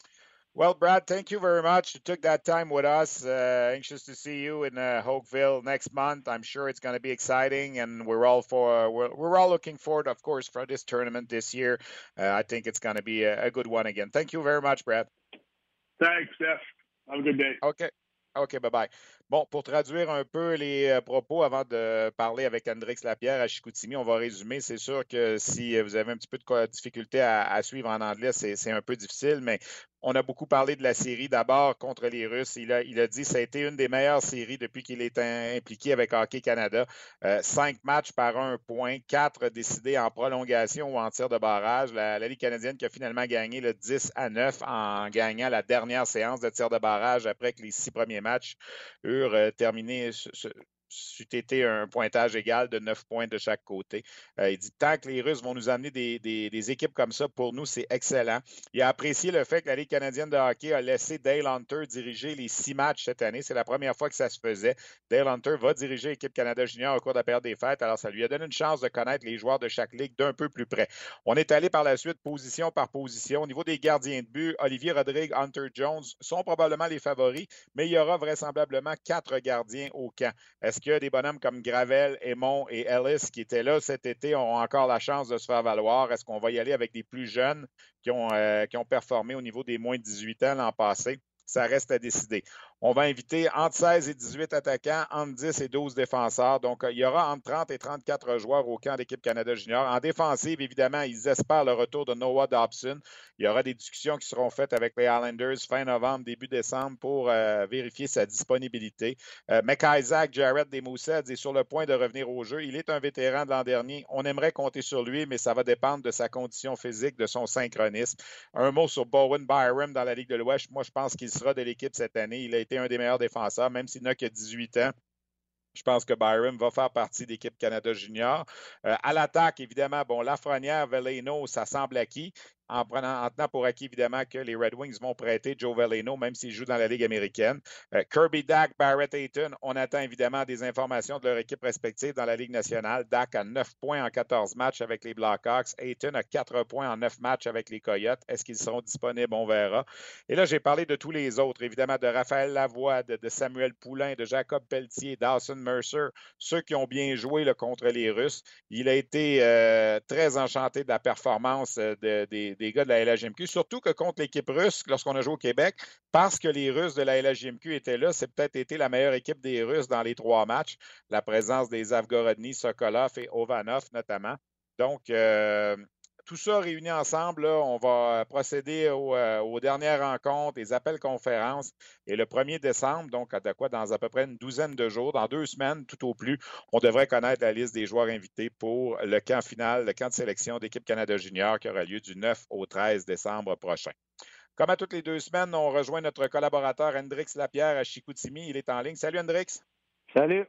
Well, Brad, thank you very much. You took that time with us. Uh, anxious to see you in uh, Hoqueville next month. I'm sure it's going to be exciting, and we're all for we're, we're all looking forward, of course, for this tournament this year. Uh, I think it's going to be a, a good one again. Thank you very much, Brad. Thanks, Steph. Have a good day. OK. OK, bye-bye. Bon, pour traduire un peu les euh, propos avant de parler avec Hendrix Lapierre à Chicoutimi, on va résumer. C'est sûr que si vous avez un petit peu de difficulté à, à suivre en anglais, c'est, c'est un peu difficile, mais on a beaucoup parlé de la série d'abord contre les Russes. Il a, il a dit que ça a été une des meilleures séries depuis qu'il est impliqué avec Hockey Canada. Euh, cinq matchs par un point, quatre décidés en prolongation ou en tir de barrage. La, la Ligue canadienne qui a finalement gagné le dix à neuf en gagnant la dernière séance de tir de barrage après que les six premiers matchs eurent euh, terminé ce, ce, c'eût été un pointage égal de neuf points de chaque côté. Euh, il dit tant que les Russes vont nous amener des, des, des équipes comme ça, pour nous, c'est excellent. Il a apprécié le fait que la Ligue canadienne de hockey a laissé Dale Hunter diriger les six matchs cette année. C'est la première fois que ça se faisait. Dale Hunter va diriger l'équipe Canada Junior au cours de la période des fêtes. Alors, ça lui a donné une chance de connaître les joueurs de chaque ligue d'un peu plus près. On est allé par la suite position par position. Au niveau des gardiens de but, Olivier Rodrigue, Hunter Jones sont probablement les favoris, mais il y aura vraisemblablement quatre gardiens au camp. Est-ce que des bonhommes comme Gravel, Aymon et Ellis qui étaient là cet été ont encore la chance de se faire valoir? Est-ce qu'on va y aller avec des plus jeunes qui ont, euh, qui ont performé au niveau des moins de dix-huit ans l'an passé? Ça reste à décider. On va inviter entre seize et dix-huit attaquants, entre dix et douze défenseurs. Donc, il y aura entre trente et trente-quatre joueurs au camp d'équipe Canada Junior. En défensive, évidemment, ils espèrent le retour de Noah Dobson. Il y aura des discussions qui seront faites avec les Islanders fin novembre, début décembre pour euh, vérifier sa disponibilité. Euh, McIsaac, Jared Desmoussets est sur le point de revenir au jeu. Il est un vétéran de l'an dernier. On aimerait compter sur lui, mais ça va dépendre de sa condition physique, de son synchronisme. Un mot sur Bowen Byram dans la Ligue de l'Ouest. Moi, je pense qu'il sera de l'équipe cette année. Il a été un des meilleurs défenseurs, même s'il n'a que dix-huit ans. Je pense que Byram va faire partie de l'équipe Canada Junior. Euh, à l'attaque, évidemment, bon, Lafrenière, Veleno, ça semble acquis. En, prenant, en tenant pour acquis, évidemment, que les Red Wings vont prêter Joe Veleno, même s'il joue dans la Ligue américaine. Euh, Kirby Dack, Barrett Hayton, on attend évidemment des informations de leur équipe respective dans la Ligue nationale. Dack a neuf points en quatorze matchs avec les Blackhawks. Hayton a quatre points en neuf matchs avec les Coyotes. Est-ce qu'ils seront disponibles? On verra. Et là, j'ai parlé de tous les autres, évidemment, de Raphaël Lavoie, de, de Samuel Poulain, de Jacob Pelletier, Dawson Mercer, ceux qui ont bien joué là, contre les Russes. Il a été euh, très enchanté de la performance euh, de, des des gars de la L H J M Q, surtout que contre l'équipe russe, lorsqu'on a joué au Québec, parce que les Russes de la L H J M Q étaient là, c'est peut-être été la meilleure équipe des Russes dans les trois matchs, la présence des Zavgorodny, Sokolov et Ovanov notamment. Donc, euh, tout ça réuni ensemble, là, on va procéder au, euh, aux dernières rencontres, les appels conférences. Et le premier décembre, donc à quoi, dans à peu près une douzaine de jours, dans deux semaines tout au plus, on devrait connaître la liste des joueurs invités pour le camp final, le camp de sélection d'équipe Canada Junior qui aura lieu du neuf au treize décembre prochain. Comme à toutes les deux semaines, on rejoint notre collaborateur Hendrix Lapierre à Chicoutimi. Il est en ligne. Salut Hendrix. Salut.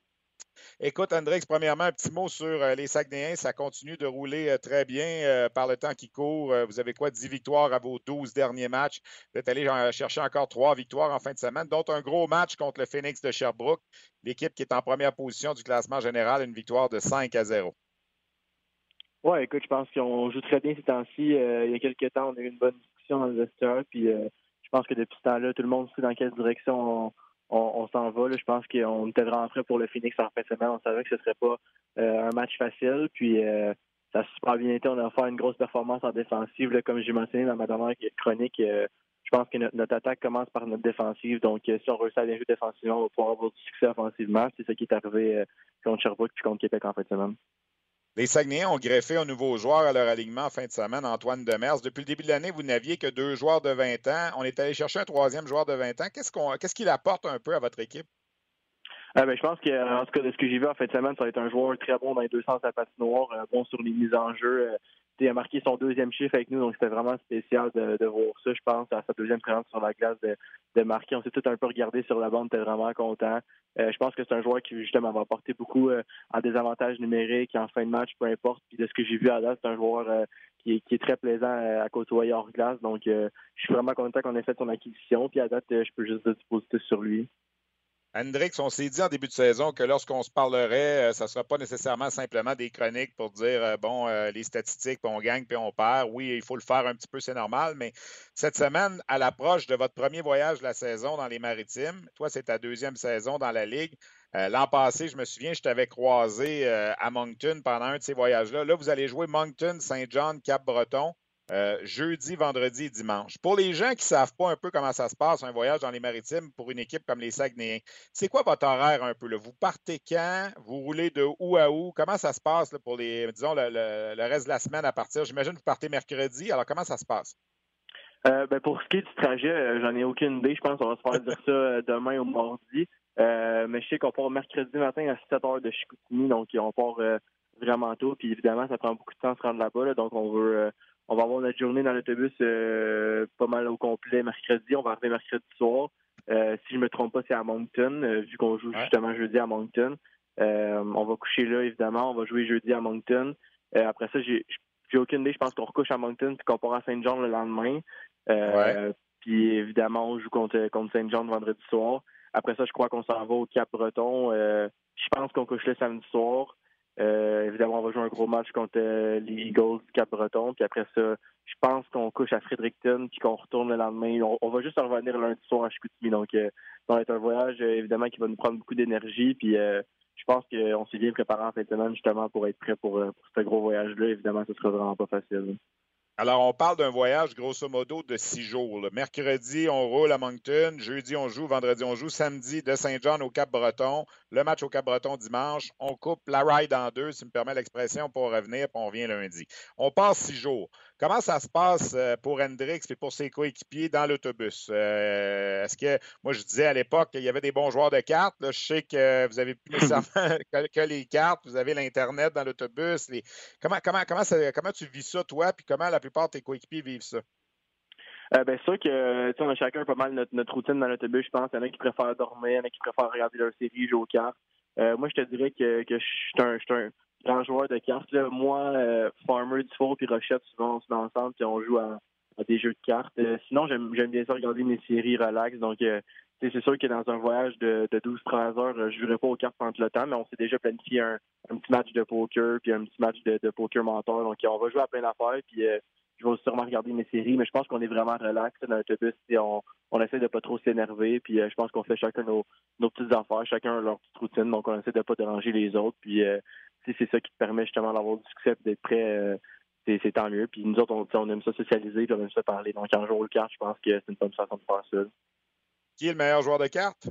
Écoute, Hendrix, premièrement, un petit mot sur euh, les Saguenayens. Ça continue de rouler euh, très bien euh, par le temps qui court. Euh, vous avez quoi, dix victoires à vos douze derniers matchs. Vous êtes allé euh, chercher encore trois victoires en fin de semaine, dont un gros match contre le Phoenix de Sherbrooke, l'équipe qui est en première position du classement général, une victoire de cinq à zéro. Oui, écoute, je pense qu'on joue très bien ces temps-ci. Euh, il y a quelques temps, on a eu une bonne discussion dans le vestiaire, puis euh, je pense que depuis ce temps-là, tout le monde sait dans quelle direction on On, on s'en va. Là. Je pense qu'on était vraiment prêt pour le Phoenix en fin de semaine. On savait que ce ne serait pas euh, un match facile. Puis euh, ça a super bien été. On a fait une grosse performance en défensive. Là, comme j'ai mentionné dans ma dernière chronique, euh, je pense que notre, notre attaque commence par notre défensive. Donc, euh, si on réussit à bien jouer défensivement, on va pouvoir avoir du succès offensivement. C'est ce qui est arrivé euh, contre Sherbrooke puis contre Québec en fin de semaine. Les Saguenayens ont greffé un nouveau joueur à leur alignement en fin de semaine, Antoine Demers. Depuis le début de l'année, vous n'aviez que deux joueurs de vingt ans. On est allé chercher un troisième joueur de vingt ans. Qu'est-ce qu'on, qu'est-ce qu'il apporte un peu à votre équipe? Euh, ben, je pense que, en tout cas, de ce que j'ai vu en fin de semaine, ça va être un joueur très bon dans les deux sens de la patinoire, euh, bon sur les mises en jeu. Euh, il a marqué son deuxième chiffre avec nous, donc c'était vraiment spécial de, de voir ça, je pense, à sa deuxième présence sur la glace de, de marquer. On s'est tout un peu regardé sur la bande, on était vraiment content. Euh, je pense que c'est un joueur qui, justement, va apporter beaucoup euh, en désavantage numérique, en fin de match, peu importe. Puis de ce que j'ai vu à date, c'est un joueur euh, qui, est, qui est très plaisant euh, à côtoyer hors glace. Donc, euh, je suis vraiment content qu'on ait fait son acquisition. Puis à date, euh, je peux juste dire du positif sur lui. Hendrix, on s'est dit en début de saison que lorsqu'on se parlerait, euh, ça ne sera pas nécessairement simplement des chroniques pour dire, euh, bon, euh, les statistiques, puis on gagne, puis on perd. Oui, il faut le faire un petit peu, c'est normal, mais cette semaine, à l'approche de votre premier voyage de la saison dans les Maritimes, toi, c'est ta deuxième saison dans la Ligue. Euh, l'an passé, je me souviens, je t'avais croisé euh, à Moncton pendant un de ces voyages-là. Là, vous allez jouer Moncton, Saint-John, Cap-Breton. Euh, jeudi, vendredi et dimanche. Pour les gens qui ne savent pas un peu comment ça se passe, un voyage dans les Maritimes pour une équipe comme les Saguenayens, c'est quoi votre horaire un peu? Là? Vous partez quand? Vous roulez de où à où? Comment ça se passe là, pour les, disons, le, le, le reste de la semaine à partir? J'imagine que vous partez mercredi. Alors, comment ça se passe? Euh, ben pour ce qui est du trajet, euh, j'en ai aucune idée. Je pense qu'on va se faire dire ça euh, demain ou mardi. Euh, mais je sais qu'on part mercredi matin à sept heures de Chicoutimi, donc on part euh, vraiment tôt. Puis évidemment, ça prend beaucoup de temps de se rendre là-bas. Là, donc on veut euh, on va avoir notre journée dans l'autobus euh, pas mal au complet mercredi. On va arriver mercredi soir. Euh, si je me trompe pas, c'est à Moncton, euh, vu qu'on joue Ouais. justement jeudi à Moncton. Euh, on va coucher là, évidemment. On va jouer jeudi à Moncton. Euh, après ça, j'ai j'ai aucune idée. Je pense qu'on recouche à Moncton puis qu'on part à Saint-Jean le lendemain. Euh, Ouais. Puis évidemment, on joue contre, contre Saint-Jean vendredi soir. Après ça, je crois qu'on s'en va au Cap-Breton. Euh, je pense qu'on couche le samedi soir. Euh, évidemment, on va jouer un gros match contre euh, les Eagles du Cap-Breton. Puis après ça, je pense qu'on couche à Fredericton puis qu'on retourne le lendemain. On, on va juste revenir lundi soir à Chicoutimi. Donc, euh, ça va être un voyage, euh, évidemment, qui va nous prendre beaucoup d'énergie. Puis euh, je pense qu'on s'est bien préparé en fin de semaine, justement, pour être prêt pour, pour ce gros voyage-là. Évidemment, ce sera vraiment pas facile. Alors, on parle d'un voyage, grosso modo, de six jours. Là. Mercredi, on roule à Moncton. Jeudi, on joue. Vendredi, on joue. Samedi, de Saint-John au Cap-Breton. Le match au Cap-Breton dimanche. On coupe la ride en deux, si tu me permets l'expression, pour revenir, puis on revient lundi. On passe six jours. Comment ça se passe pour Hendrix et pour ses coéquipiers dans l'autobus? Euh, est-ce que, moi, je disais à l'époque qu'il y avait des bons joueurs de cartes. Là, je sais que vous n'avez plus nécessairement que, que les cartes. Vous avez l'Internet dans l'autobus. Les... Comment, comment, comment, ça, comment tu vis ça, toi, puis comment la plupart de tes coéquipiers vivent ça? Euh, ben, c'est sûr que, on a chacun pas mal notre, notre routine dans l'autobus, je pense. Il y en a qui préfèrent dormir, il y en a qui préfèrent regarder leur série, jouer aux cartes. Euh, moi, je te dirais que, que je suis un, je suis un grand joueur de cartes. Là. Moi, euh, Farmer, Dufour puis Rochette, souvent, on se met ensemble puis on joue à, à des jeux de cartes. Euh, sinon, j'aime, j'aime bien ça regarder mes séries relax. Donc, euh, c'est sûr que dans un voyage de, de douze treize heures, je ne jouerai pas aux cartes pendant le temps, mais on s'est déjà planifié un, un petit match de poker puis un petit match de, de poker mentor. Donc, on va jouer à plein d'affaires puis euh, je vais sûrement regarder mes séries, mais je pense qu'on est vraiment relax dans l'autobus. On, on essaie de pas trop s'énerver, puis euh, je pense qu'on fait chacun nos, nos petites affaires, chacun leur petite routine, donc on essaie de pas déranger les autres. Puis euh, c'est ça qui te permet justement d'avoir du succès et d'être prêt. Euh, c'est, c'est tant mieux. Puis nous autres, on, on aime ça socialiser, puis on aime ça parler. Donc en jouant le carte, je pense que c'est une bonne façon de faire ça. Qui est le meilleur joueur de cartes?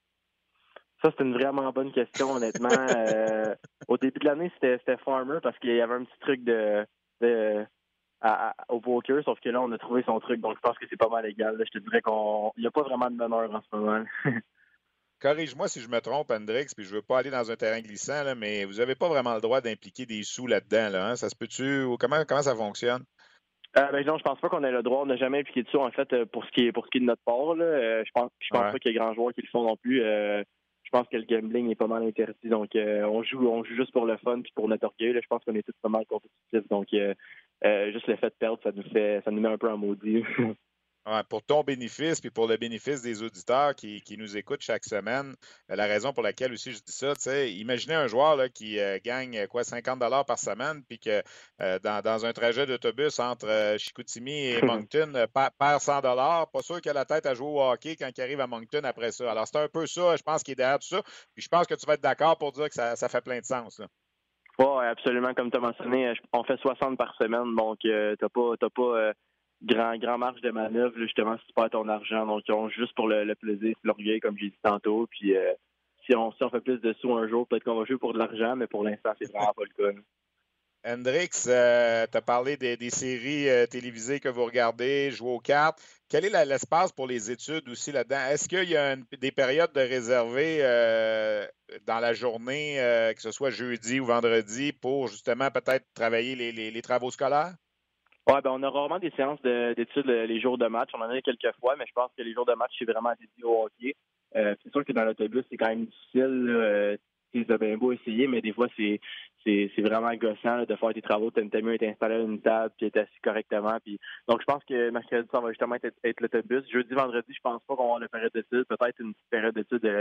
Ça, c'est une vraiment bonne question, honnêtement. euh, au début de l'année, c'était, c'était Farmer parce qu'il y avait un petit truc de... de À, à, au poker, sauf que là, on a trouvé son truc, donc je pense que c'est pas mal égal. Là. Je te dirais qu'il n'y a pas vraiment de bonheur en ce moment. Corrige-moi si je me trompe, Hendrix, puis je veux pas aller dans un terrain glissant, là, mais vous n'avez pas vraiment le droit d'impliquer des sous là-dedans. Là, hein? Ça se peut-tu? Ou comment, comment ça fonctionne? Euh, ben non, je pense pas qu'on ait le droit. On n'a jamais impliqué de sous, en fait, pour ce qui est pour ce qui est de notre part. Là. Euh, je pense je pense Ouais. pas qu'il y ait grands joueurs qui le font non plus. Euh, je pense que le gambling est pas mal interdit. Donc euh, on joue on joue juste pour le fun puis pour notre orgueil. Là. Je pense qu'on est tous pas mal compétitifs. Donc euh, euh, juste le fait de perdre, ça nous fait ça nous met un peu en maudit. Ouais, pour ton bénéfice, puis pour le bénéfice des auditeurs qui, qui nous écoutent chaque semaine, euh, la raison pour laquelle aussi je dis ça, tu sais, imaginez un joueur là, qui euh, gagne euh, quoi cinquante dollars par semaine, puis que euh, dans, dans un trajet d'autobus entre euh, Chicoutimi et Moncton, euh, pa- perd cent dollars, pas sûr qu'il a la tête à jouer au hockey quand il arrive à Moncton après ça. Alors c'est un peu ça, je pense, qui est derrière tout ça, puis je pense que tu vas être d'accord pour dire que ça, ça fait plein de sens. Là. Oui, absolument. Comme tu as mentionné, on fait soixante par semaine, donc euh, t'as pas t'as pas euh, grand grand marge de manœuvre là, justement si tu perds ton argent. Donc on joue juste pour le, le plaisir, l'orgueil, comme j'ai dit tantôt. Puis euh, si on si on fait plus de sous un jour, peut-être qu'on va jouer pour de l'argent, mais pour l'instant, c'est vraiment pas le cas. Là. Hendrix, euh, tu as parlé des, des séries euh, télévisées que vous regardez, jouer aux cartes. Quel est la, l'espace pour les études aussi là-dedans? Est-ce qu'il y a une, des périodes de réservées euh, dans la journée, euh, que ce soit jeudi ou vendredi, pour justement peut-être travailler les, les, les travaux scolaires? Ouais, ben on a rarement des séances de, d'études les jours de match. On en a quelques fois, mais je pense que les jours de match, c'est vraiment dédié au hockey. Euh, c'est sûr que dans l'autobus, c'est quand même difficile. Là. C'est bien beau essayer, mais des fois, c'est c'est, c'est vraiment gossant là, de faire tes travaux. T'as mieux être installé à une table puis être assis correctement. Puis... Donc, je pense que mercredi, ça va justement être, être l'autobus. Jeudi, vendredi, je pense pas qu'on va avoir une période d'études. Peut-être une petite période d'études de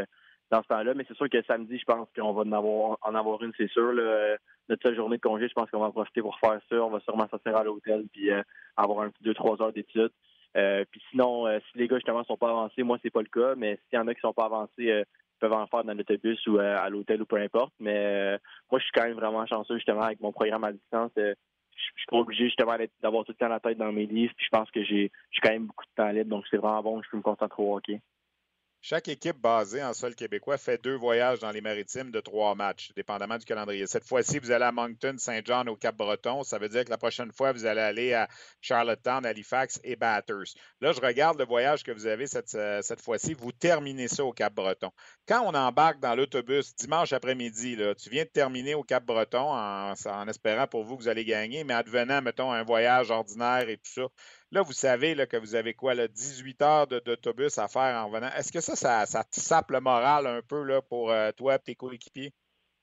dans ce temps-là. Mais c'est sûr que samedi, je pense qu'on va en avoir, en avoir une, c'est sûr. Là. Notre seule journée de congé, je pense qu'on va en profiter pour faire ça. On va sûrement s'asseoir à l'hôtel puis euh, avoir un petit deux, trois heures d'études. Euh, puis sinon, euh, si les gars, justement, sont pas avancés, moi, c'est pas le cas. Mais s'il y en a qui sont pas avancés, euh, ils peuvent en faire dans l'autobus ou euh, à l'hôtel ou peu importe. Mais euh, moi, je suis quand même vraiment chanceux, justement, avec mon programme à distance. Euh, je suis pas obligé, justement, d'avoir tout le temps la tête dans mes livres. Puis je pense que j'ai, j'ai quand même beaucoup de temps libre. Donc, c'est vraiment bon. Je peux me concentrer au hockey. Chaque équipe basée en sol québécois fait deux voyages dans les maritimes de trois matchs, dépendamment du calendrier. Cette fois-ci, vous allez à Moncton, Saint-John, au Cap-Breton. Ça veut dire que la prochaine fois, vous allez aller à Charlottetown, Halifax et Bathurst. Là, je regarde le voyage que vous avez cette, cette fois-ci. Vous terminez ça au Cap-Breton. Quand on embarque dans l'autobus dimanche après-midi, là, tu viens de terminer au Cap-Breton en, en espérant pour vous que vous allez gagner, mais advenant, mettons, un voyage ordinaire et tout ça. Là, vous savez là, que vous avez quoi, là, dix-huit heures de, d'autobus à faire en revenant. Est-ce que ça, ça, ça te sape le moral un peu là, pour euh, toi et tes coéquipiers?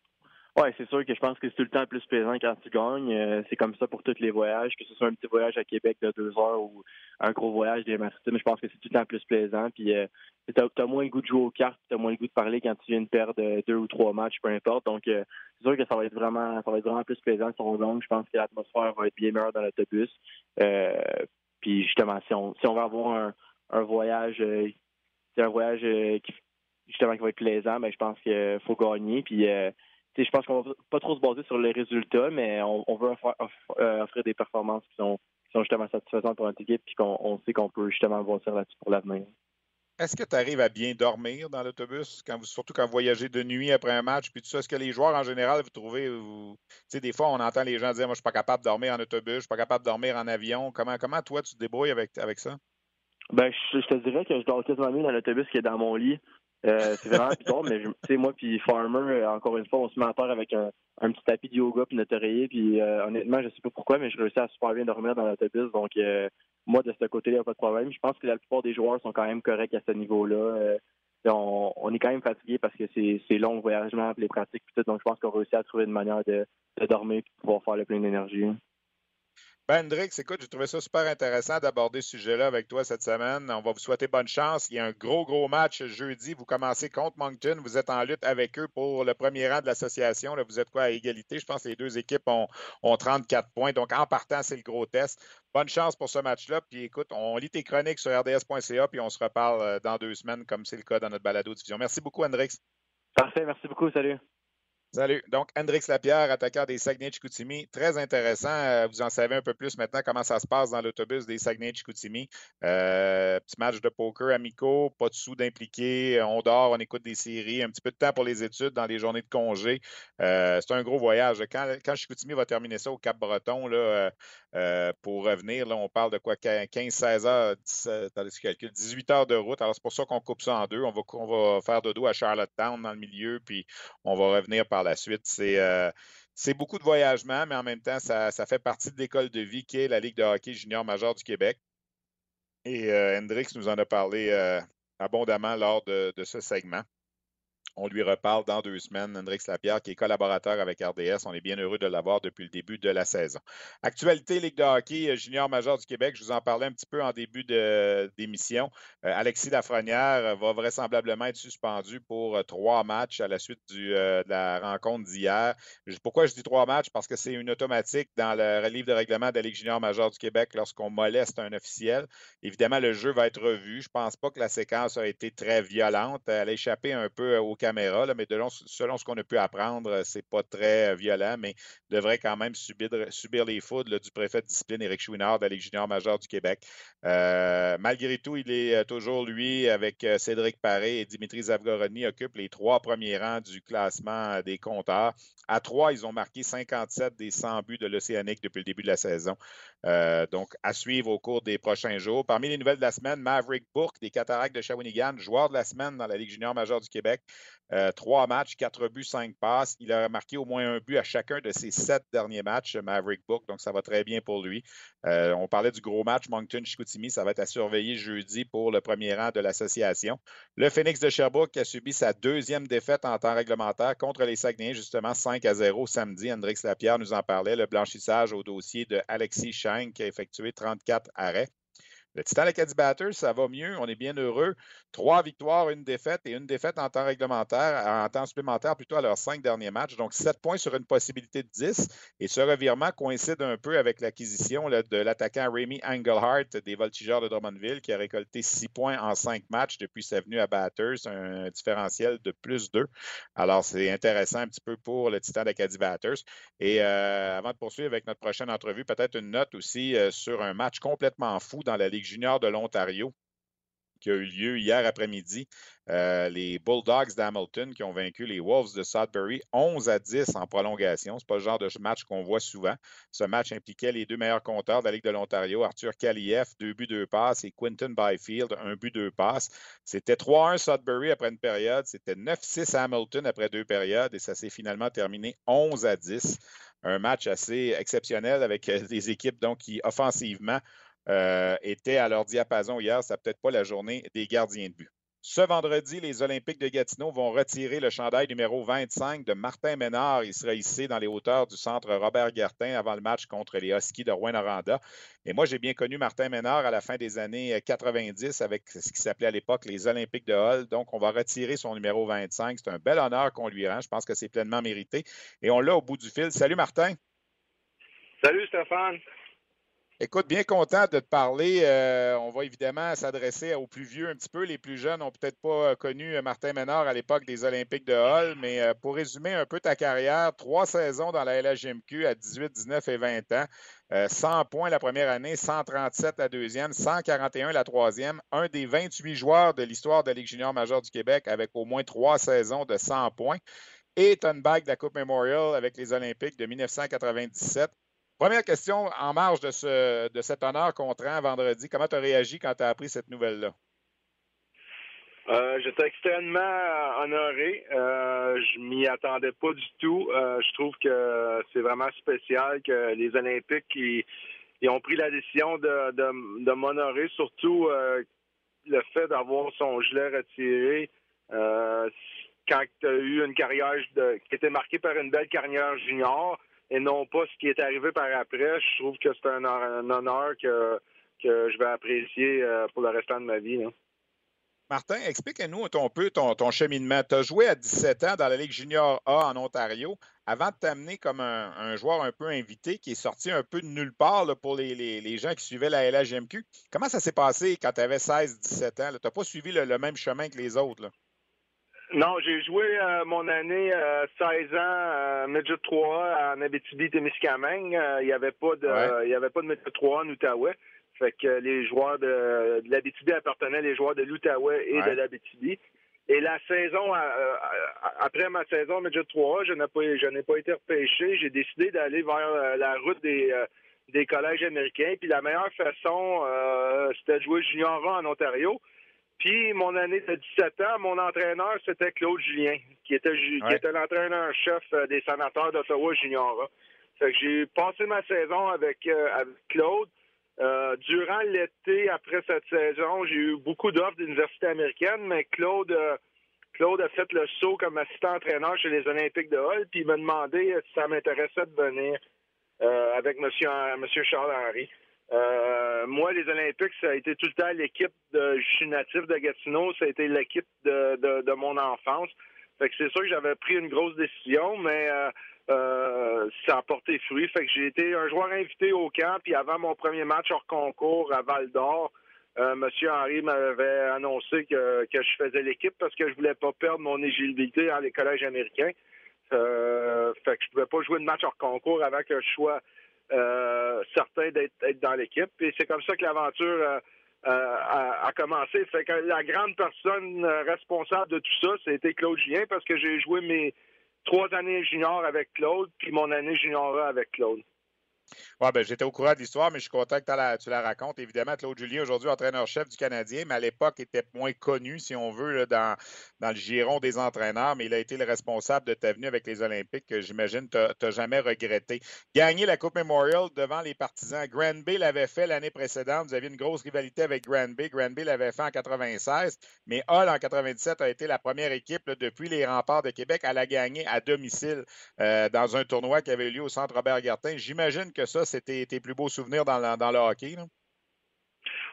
Oui, c'est sûr que je pense que c'est tout le temps plus plaisant quand tu gagnes. Euh, c'est comme ça pour tous les voyages, que ce soit un petit voyage à Québec de deux heures ou un gros voyage des maritimes. Je pense que c'est tout le temps plus plaisant. Puis euh, tu as moins le goût de jouer aux cartes, tu as moins le goût de parler quand tu viens de perdre deux ou trois matchs, peu importe. Donc, euh, c'est sûr que ça va être vraiment ça va être vraiment plus plaisant si on gagne. Je pense que l'atmosphère va être bien meilleure dans l'autobus. Euh, Puis justement, si on si on va avoir un, un voyage, euh, c'est un voyage euh, qui justement qui va être plaisant, mais je pense qu'il faut gagner. Puis euh, je pense qu'on va pas trop se baser sur les résultats, mais on, on veut offrir, offrir, offrir des performances qui sont qui sont justement satisfaisantes pour notre équipe, puis qu'on on sait qu'on peut justement bâtir là-dessus pour l'avenir. Est-ce que tu arrives à bien dormir dans l'autobus, quand vous, surtout quand vous voyagez de nuit après un match, puis tout ça? Est-ce que les joueurs, en général, vous trouvez, vous, tu sais, des fois, on entend les gens dire, moi, je suis pas capable de dormir en autobus, je suis pas capable de dormir en avion. Comment, comment toi, tu te débrouilles avec, avec ça? Ben, je, je te dirais que je dors quasiment mieux dans l'autobus que dans mon lit. Euh, c'est vraiment bizarre, mais tu sais, moi puis Farmer, encore une fois, on se met à terre avec un, un petit tapis de yoga puis notre oreiller, puis euh, honnêtement, je sais pas pourquoi, mais je réussis à super bien dormir dans l'autobus, donc euh, moi, de ce côté-là, il n'y a pas de problème. Je pense que la plupart des joueurs sont quand même corrects à ce niveau-là. Euh, on, on est quand même fatigué parce que c'est, c'est long le voyagement, les pratiques, puis tout, donc je pense qu'on réussit à trouver une manière de, de dormir et de pouvoir faire le plein d'énergie. Ben, Hendrix, écoute, j'ai trouvé ça super intéressant d'aborder ce sujet-là avec toi cette semaine. On va vous souhaiter bonne chance. Il y a un gros, gros match jeudi. Vous commencez contre Moncton. Vous êtes en lutte avec eux pour le premier rang de l'association. Là, vous êtes quoi à égalité? Je pense que les deux équipes ont, ont trente-quatre points. Donc, en partant, c'est le gros test. Bonne chance pour ce match-là. Puis, écoute, on lit tes chroniques sur r d s point c a puis on se reparle dans deux semaines, comme c'est le cas dans notre balado diffusion. Merci beaucoup, Hendrix. Parfait. Merci beaucoup. Salut. Salut. Donc, Hendrix Lapierre, attaquant des Saguenay-Chicoutimi. Très intéressant. Vous en savez un peu plus maintenant comment ça se passe dans l'autobus des Saguenay-Chicoutimi. Euh, petit match de poker amicaux, pas de sous d'impliqués. On dort, on écoute des séries, un petit peu de temps pour les études dans les journées de congé. Euh, c'est un gros voyage. Quand, quand Chicoutimi va terminer ça au Cap-Breton, là, euh, pour revenir, là, on parle de quoi? quinze seize heures, attendez, je calcule, dix-huit heures de route. Alors, c'est pour ça qu'on coupe ça en deux. On va, on va faire dodo à Charlottetown dans le milieu, puis on va revenir par la suite. C'est, euh, c'est beaucoup de voyagement, mais en même temps, ça, ça fait partie de l'école de vie qui est la Ligue de hockey junior majeur du Québec. Et euh, Hendrix nous en a parlé euh, abondamment lors de, de ce segment. On lui reparle dans deux semaines. Hendrix Lapierre, qui est collaborateur avec R D S. On est bien heureux de l'avoir depuis le début de la saison. Actualité Ligue de hockey junior majeur du Québec. Je vous en parlais un petit peu en début de, d'émission. Euh, Alexis Lafrenière va vraisemblablement être suspendu pour trois matchs à la suite du, euh, de la rencontre d'hier. Pourquoi je dis trois matchs? Parce que c'est une automatique dans le livre de règlement de la Ligue junior majeure du Québec lorsqu'on moleste un officiel. Évidemment, le jeu va être revu. Je ne pense pas que la séquence a été très violente. Elle a échappé un peu au caméra, là, mais de long, selon ce qu'on a pu apprendre, c'est pas très violent, mais devrait quand même subir, subir les foudres là, du préfet de discipline Éric Chouinard de la Ligue junior majeure du Québec. Euh, malgré tout, il est toujours, lui, avec Cédric Paré et Dimitri Zavgorodny, occupe les trois premiers rangs du classement des compteurs. À trois, ils ont marqué cinquante-sept des cent buts de l'Océanique depuis le début de la saison. Euh, donc, à suivre au cours des prochains jours. Parmi les nouvelles de la semaine, Maverick Bourque des Cataractes de Shawinigan, joueur de la semaine dans la Ligue junior majeure du Québec. Euh, trois matchs, quatre buts, cinq passes. Il a marqué au moins un but à chacun de ses sept derniers matchs, Maverick Bourque, donc ça va très bien pour lui. Euh, on parlait du gros match Moncton-Chicoutimi, ça va être à surveiller jeudi pour le premier rang de l'association. Le Phoenix de Sherbrooke a subi sa deuxième défaite en temps réglementaire contre les Saguenayens, justement cinq à zéro samedi. Hendrix Lapierre nous en parlait, le blanchissage au dossier de Alexis Schenk qui a effectué trente-quatre arrêts. Le Titan Acadie Batters, ça va mieux, on est bien heureux. Trois victoires, une défaite et une défaite en temps réglementaire, en temps supplémentaire plutôt à leurs cinq derniers matchs. Donc, sept points sur une possibilité de dix. Et ce revirement coïncide un peu avec l'acquisition là, de l'attaquant Remy Engelhardt des Voltigeurs de Drummondville qui a récolté six points en cinq matchs depuis sa venue à Batters, un différentiel de plus deux. Alors, c'est intéressant un petit peu pour le Titan d'Acadie Batters. Et euh, avant de poursuivre avec notre prochaine entrevue, peut-être une note aussi euh, sur un match complètement fou dans la Ligue junior de l'Ontario qui a eu lieu hier après-midi. Euh, les Bulldogs d'Hamilton qui ont vaincu les Wolves de Sudbury onze à dix en prolongation. Ce n'est pas le genre de match qu'on voit souvent. Ce match impliquait les deux meilleurs compteurs de la Ligue de l'Ontario, Arthur Kaliev, deux buts, deux passes, et Quinton Byfield, un but, deux passes. C'était trois un Sudbury après une période. C'était neuf six Hamilton après deux périodes et ça s'est finalement terminé onze à dix. Un match assez exceptionnel avec des équipes donc, qui, offensivement, Euh, étaient à leur diapason hier. Ce n'est peut-être pas la journée des gardiens de but. Ce vendredi, les Olympiques de Gatineau vont retirer le chandail numéro vingt-cinq de Martin Ménard. Il sera hissé dans les hauteurs du centre Robert-Gartin avant le match contre les Huskies de Rouyn-Noranda. Et moi, j'ai bien connu Martin Ménard à la fin des années quatre-vingt-dix avec ce qui s'appelait à l'époque les Olympiques de Hull. Donc, on va retirer son numéro vingt-cinq. C'est un bel honneur qu'on lui rend. Je pense que c'est pleinement mérité. Et on l'a au bout du fil. Salut, Martin. Salut, Stéphane. Écoute, bien content de te parler. Euh, on va évidemment s'adresser aux plus vieux un petit peu. Les plus jeunes n'ont peut-être pas connu Martin Ménard à l'époque des Olympiques de Hull, mais euh, pour résumer un peu ta carrière, trois saisons dans la L H J M Q à dix-huit, dix-neuf et vingt ans, euh, cent points la première année, cent trente-sept la deuxième, cent quarante et un la troisième, un des vingt-huit joueurs de l'histoire de la Ligue junior majeure du Québec avec au moins trois saisons de cent points et tu as une bague de la Coupe Memorial avec les Olympiques de dix-neuf cent quatre-vingt-dix-sept. Première question en marge de, ce, de cet honneur qu'on te rend vendredi. Comment tu as réagi quand tu as appris cette nouvelle-là? Euh, j'étais extrêmement honoré. Euh, je m'y attendais pas du tout. Euh, je trouve que c'est vraiment spécial que les Olympiques ils, ils ont pris la décision de, de, de m'honorer, surtout euh, le fait d'avoir son gilet retiré euh, quand tu as eu une carrière de, qui était marquée par une belle carrière junior. Et non pas ce qui est arrivé par après. Je trouve que c'est un, un honneur que, que je vais apprécier pour le restant de ma vie. Hein. Martin, explique-nous un peu ton, ton cheminement. Tu as joué à dix-sept ans dans la Ligue junior A en Ontario avant de t'amener comme un, un joueur un peu invité qui est sorti un peu de nulle part là, pour les, les, les gens qui suivaient la L H J M Q. Comment ça s'est passé quand tu avais seize dix-sept ans? Tu n'as pas suivi le, le même chemin que les autres? Là? Non, j'ai joué euh, mon année euh, seize ans euh, Midget trois A en Abitibi-Témiscamingue. Il euh, n'y avait pas de ouais. il y avait pas de Midget trois A en Outaouais. Fait que les joueurs de, de l'Abitibi appartenaient les joueurs de l'Outaouais et ouais. de l'Abitibi. Et la saison euh, après ma saison Midget trois A, je n'ai pas je n'ai pas été repêché. J'ai décidé d'aller vers euh, la route des euh, des collèges américains. Puis la meilleure façon, euh, c'était de jouer junior A en Ontario. Puis, mon année de dix-sept ans, mon entraîneur, c'était Claude Julien, qui était, ouais. qui était l'entraîneur-chef des Sénateurs d'Ottawa Junior A. Fait que j'ai passé ma saison avec, euh, avec Claude. Euh, durant l'été, après cette saison, j'ai eu beaucoup d'offres d'universités américaines, mais Claude, euh, Claude a fait le saut comme assistant-entraîneur chez les Olympiques de Hull, puis il m'a demandé si ça m'intéressait de venir euh, avec M. Monsieur Charles-Henri. Euh, moi, les Olympiques, ça a été tout le temps l'équipe de... Je suis natif de Gatineau, ça a été l'équipe de, de, de mon enfance. Fait que c'est sûr que j'avais pris une grosse décision, mais euh, euh, ça a porté fruit. Fait que j'ai été un joueur invité au camp, puis avant mon premier match hors concours à Val-d'Or, euh, M. Henry m'avait annoncé que, que je faisais l'équipe parce que je voulais pas perdre mon éligibilité dans les collèges américains. Euh, fait que je pouvais pas jouer de match hors concours avant que je sois Euh, certain d'être, d'être dans l'équipe. Et c'est comme ça que l'aventure euh, euh, a, a commencé. Fait que la grande personne responsable de tout ça, c'était Claude Julien, parce que j'ai joué mes trois années junior avec Claude, puis mon année junior avec Claude. Oui, ben, j'étais au courant de l'histoire, mais je suis content que la, tu la racontes. Évidemment, Claude Julien, aujourd'hui entraîneur-chef du Canadien, mais à l'époque, était moins connu, si on veut, là, dans, dans le giron des entraîneurs, mais il a été le responsable de ta venue avec les Olympiques, que j'imagine tu n'as jamais regretté. Gagner la Coupe Memorial devant les partisans. Granby l'avait fait l'année précédente. Vous aviez une grosse rivalité avec Granby. Granby l'avait fait en quatre-vingt-seize, mais Hull, en quatre-vingt-dix-sept, a été la première équipe là, depuis les remparts de Québec à la gagner à domicile euh, dans un tournoi qui avait eu lieu au Centre Robert-Gartin. J'imagine que ça, c'était tes plus beaux souvenirs dans, la, dans le hockey, là?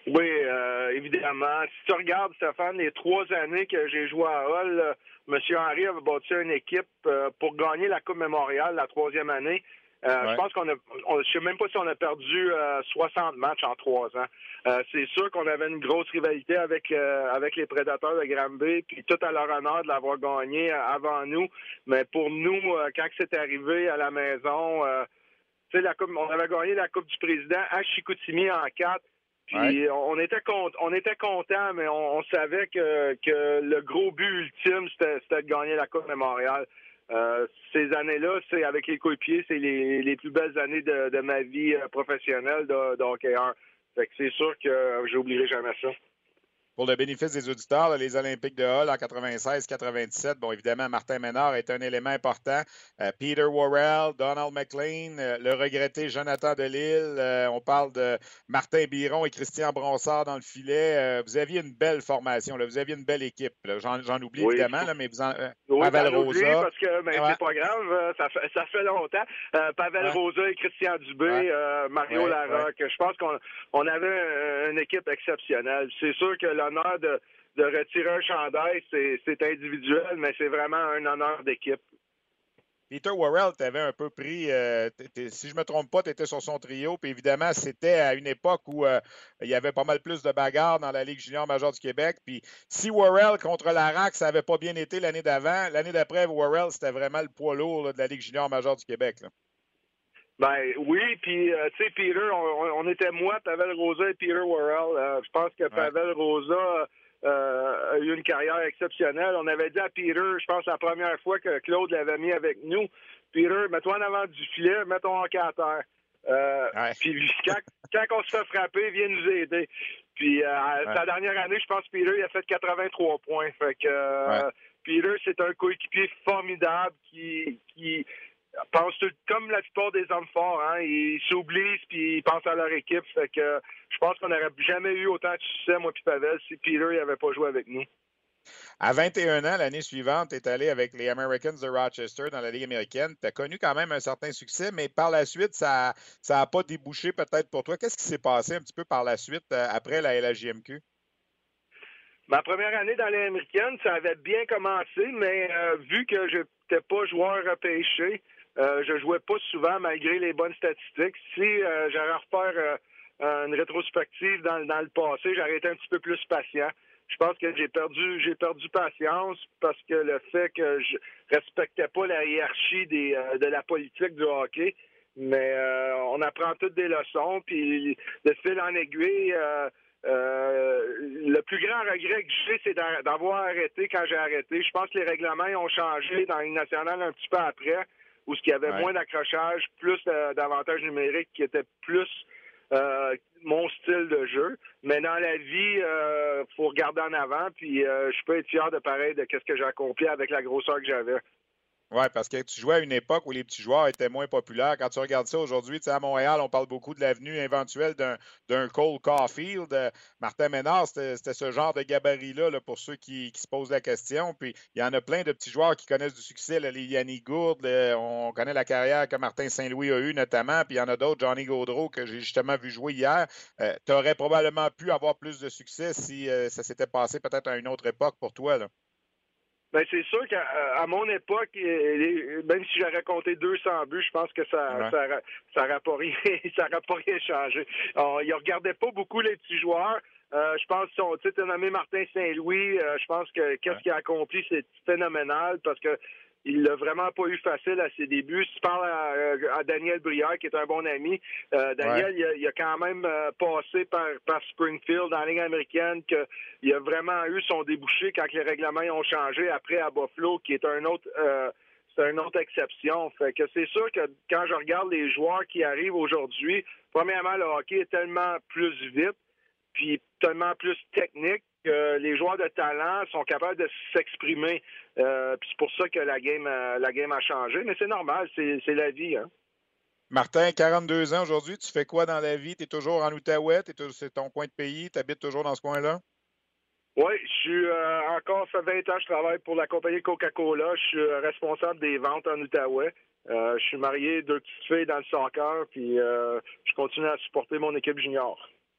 Oui, euh, évidemment. Si tu regardes, Stéphane, les trois années que j'ai joué à Hull, euh, M. Henry avait bâti une équipe euh, pour gagner la Coupe Mémoriale la troisième année. Euh, ouais. Je pense qu'on a, on, je sais même pas si on a perdu euh, soixante matchs en trois ans. Euh, c'est sûr qu'on avait une grosse rivalité avec euh, avec les Prédateurs de Granby, puis tout à leur honneur de l'avoir gagné euh, avant nous. Mais pour nous, euh, quand c'est arrivé à la maison, euh, tu sais, la coupe, on avait gagné la Coupe du Président à Chicoutimi en quatre. Puis ouais. on était con, on était content, mais on, on savait que que le gros but ultime c'était, c'était de gagner la Coupe Mémoriale. Euh, ces années-là, c'est avec les coéquipiers, c'est les, les plus belles années de, de ma vie professionnelle de, de hockeyeur. Fait que c'est sûr que j'oublierai jamais ça. Pour le bénéfice des auditeurs, là, les Olympiques de Hull en quatre-vingt-seize quatre-vingt-dix-sept, bon, évidemment, Martin Ménard est un élément important. Euh, Peter Worrell, Donald McLean, euh, le regretté Jonathan Delisle, euh, on parle de Martin Biron et Christian Bronsard dans le filet. Euh, vous aviez une belle formation, là. Vous aviez une belle équipe. Là. J'en, j'en oublie oui. évidemment, là, mais vous en... Euh, oui, Pavel Rosa. Parce que ben, ouais. c'est pas grave, ça fait, ça fait longtemps. Euh, Pavel ouais. Rosa et Christian Dubé, ouais. euh, Mario ouais. Larocque. Ouais. Je pense qu'on on avait une équipe exceptionnelle. C'est sûr que l'honneur de, de retirer un chandail, c'est, c'est individuel, mais c'est vraiment un honneur d'équipe. Peter Worrell, tu avais un peu pris, euh, si je ne me trompe pas, tu étais sur son trio, puis évidemment, c'était à une époque où euh, il y avait pas mal plus de bagarres dans la Ligue junior majeure du Québec, puis si Worrell contre Larac, ça n'avait pas bien été l'année d'avant, l'année d'après, Worrell, c'était vraiment le poids lourd là, de la Ligue junior majeure du Québec. Là. Ben oui, puis euh, tu sais, Peter, on, on était moi, Pavel Rosa et Peter Worrell. Euh, je pense que ouais. Pavel Rosa euh, a eu une carrière exceptionnelle. On avait dit à Peter, je pense la première fois que Claude l'avait mis avec nous, Peter, mets-toi en avant du filet, mets ton hockey à terre. Euh, ouais. Puis quand, quand on se fait frapper, viens nous aider. Puis euh, ouais. sa dernière année, je pense que Peter il a fait quatre-vingt-trois points. Fait que euh, ouais. Peter, c'est un coéquipier formidable qui qui pense tout, comme la plupart des hommes forts, hein, ils s'oublient puis ils pensent à leur équipe. Fait que je pense qu'on n'aurait jamais eu autant de succès, moi puis Pavel, si Peter n'avait pas joué avec nous. À vingt et un ans, l'année suivante, tu es allé avec les Americans de Rochester dans la Ligue américaine. Tu as connu quand même un certain succès, mais par la suite, ça n'a ça pas débouché peut-être pour toi. Qu'est-ce qui s'est passé un petit peu par la suite après la L H J M Q? Ma première année dans les américaines, ça avait bien commencé, mais euh, vu que je n'étais pas joueur repêché, Euh, je jouais pas souvent malgré les bonnes statistiques. Si euh, j'aurais à refaire euh, une rétrospective dans, dans le passé, j'aurais été un petit peu plus patient. Je pense que j'ai perdu j'ai perdu patience parce que le fait que je respectais pas la hiérarchie des, euh, de la politique du hockey. Mais euh, on apprend toutes des leçons, puis de fil en aiguille, euh, euh, le plus grand regret que j'ai, c'est d'avoir arrêté quand j'ai arrêté. Je pense que les règlements ont changé dans la Ligue nationale un petit peu après, où il y avait ouais. moins d'accrochage, plus euh, d'avantages numériques qui étaient plus euh, mon style de jeu. Mais dans la vie, il euh, faut regarder en avant, puis euh, je peux être fier de pareil de ce que j'ai accompli avec la grosseur que j'avais. Oui, parce que tu jouais à une époque où les petits joueurs étaient moins populaires. Quand tu regardes ça aujourd'hui, tu sais, à Montréal, on parle beaucoup de l'avenue éventuelle d'un, d'un Cole Caulfield. Euh, Martin Ménard, c'était, c'était ce genre de gabarit-là là, pour ceux qui, qui se posent la question. Puis il y en a plein de petits joueurs qui connaissent du succès. Là, les Yannick Gourde, là, on connaît la carrière que Martin Saint-Louis a eue notamment. Puis il y en a d'autres, Johnny Gaudreau, que j'ai justement vu jouer hier. Euh, tu aurais probablement pu avoir plus de succès si euh, ça s'était passé peut-être à une autre époque pour toi, là. Ben c'est sûr qu'à à mon époque, même si j'aurais compté deux cents buts, je pense que ça ouais. ça ça n'aurait pas rien ça n'aurait pas rien changé. Alors, ils regardaient pas beaucoup les petits joueurs. Euh, je pense que tu sais, nommé Martin Saint-Louis, euh, je pense que qu'est-ce ouais. qu'il a accompli, c'est phénoménal parce que il l'a vraiment pas eu facile à ses débuts. Si tu parles à, à Daniel Brière, qui est un bon ami, euh, Daniel, ouais. il, a, il a quand même euh, passé par, par Springfield dans la Ligue américaine, qu'il a vraiment eu son débouché quand les règlements ont changé après à Buffalo, qui est un autre euh, c'est une autre exception. Fait que c'est sûr que quand je regarde les joueurs qui arrivent aujourd'hui, premièrement, le hockey est tellement plus vite, puis tellement plus technique, que les joueurs de talent sont capables de s'exprimer. Euh, puis c'est pour ça que la game, euh, la game a changé. Mais c'est normal, c'est, c'est la vie. Hein? Martin, quarante-deux ans aujourd'hui, tu fais quoi dans la vie? Tu es toujours en Outaouais? T'es, c'est ton coin de pays? Tu habites toujours dans ce coin-là? Oui, je suis euh, encore, ça fait vingt ans, je travaille pour la compagnie Coca-Cola. Je suis euh, responsable des ventes en Outaouais. Euh, je suis marié, deux petites filles dans le soccer, puis euh, je continue à supporter mon équipe junior.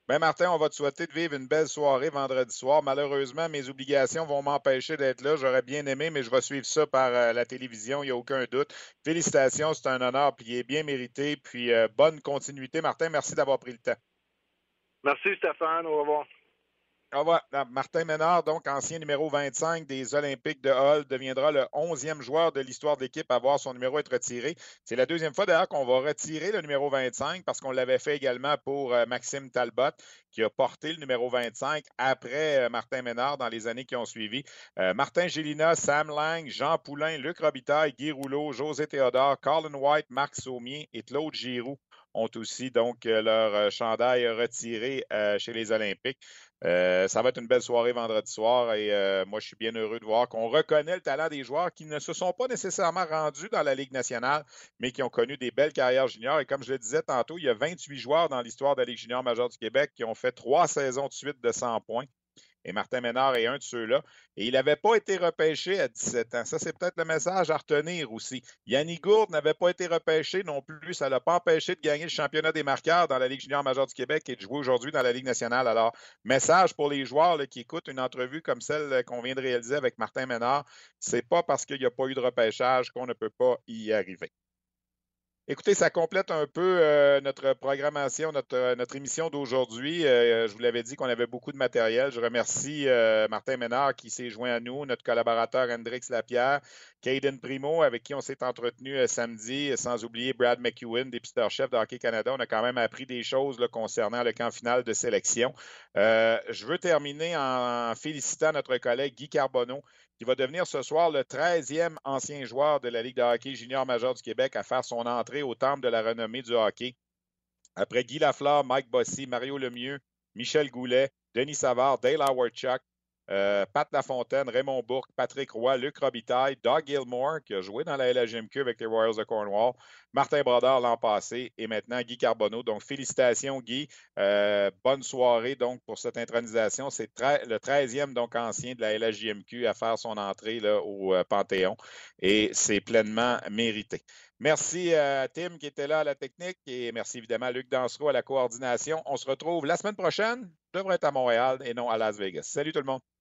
Bien, Martin, on va te souhaiter de vivre une belle soirée vendredi soir. Malheureusement, mes obligations vont m'empêcher d'être là. J'aurais bien aimé, mais je vais suivre ça par euh, la télévision, il n'y a aucun doute. Félicitations, c'est un honneur, puis il est bien mérité. Puis euh, bonne continuité. Martin, merci d'avoir pris le temps. Merci, Stéphane. Au revoir. Au revoir. Martin Ménard, donc ancien numéro vingt-cinq des Olympiques de Hull, deviendra le onzième joueur de l'histoire de l'équipe à voir son numéro être retiré. C'est la deuxième fois d'ailleurs qu'on va retirer le numéro vingt-cinq parce qu'on l'avait fait également pour euh, Maxime Talbot, qui a porté le numéro vingt-cinq après euh, Martin Ménard dans les années qui ont suivi. Euh, Martin Gélina, Sam Lang, Jean Poulain, Luc Robitaille, Guy Rouleau, José Théodore, Colin White, Marc Saumier et Claude Giroux ont aussi donc leur euh, chandail retiré euh, chez les Olympiques. Euh, ça va être une belle soirée vendredi soir et euh, moi, je suis bien heureux de voir qu'on reconnaît le talent des joueurs qui ne se sont pas nécessairement rendus dans la Ligue nationale, mais qui ont connu des belles carrières juniors. Et comme je le disais tantôt, il y a vingt-huit joueurs dans l'histoire de la Ligue junior majeure du Québec qui ont fait trois saisons de suite de cent points. Et Martin Ménard est un de ceux-là. Et il n'avait pas été repêché à dix-sept ans. Ça, c'est peut-être le message à retenir aussi. Yannick Gourde n'avait pas été repêché non plus. Ça ne l'a pas empêché de gagner le championnat des marqueurs dans la Ligue junior majeure du Québec et de jouer aujourd'hui dans la Ligue nationale. Alors, message pour les joueurs là, qui écoutent une entrevue comme celle qu'on vient de réaliser avec Martin Ménard. C'est pas parce qu'il n'y a pas eu de repêchage qu'on ne peut pas y arriver. Écoutez, ça complète un peu euh, notre programmation, notre, notre émission d'aujourd'hui. Euh, je vous l'avais dit qu'on avait beaucoup de matériel. Je remercie euh, Martin Ménard qui s'est joint à nous, notre collaborateur Hendrix Lapierre, Caden Primo avec qui on s'est entretenu euh, samedi, sans oublier Brad McEwen, dépisteur-chef de Hockey Canada. On a quand même appris des choses là, concernant le camp final de sélection. Euh, je veux terminer en félicitant notre collègue Guy Carbonneau, qui va devenir ce soir le treizième ancien joueur de la Ligue de hockey junior majeure du Québec à faire son entrée au temple de la renommée du hockey. Après Guy Lafleur, Mike Bossy, Mario Lemieux, Michel Goulet, Denis Savard, Dale Howard-Chuck, euh, Pat Lafontaine, Raymond Bourque, Patrick Roy, Luc Robitaille, Doug Gilmore, qui a joué dans la L H J M Q avec les Royals de Cornwall, Martin Brodeur l'an passé et maintenant Guy Carbonneau. Donc, félicitations, Guy. Euh, bonne soirée donc pour cette intronisation. C'est le treizième donc ancien de la L H J M Q à faire son entrée là, au euh, Panthéon et c'est pleinement mérité. Merci à Tim qui était là à la technique et merci évidemment à Luc Dansereau à la coordination. On se retrouve la semaine prochaine. Je devrais être à Montréal et non à Las Vegas. Salut tout le monde.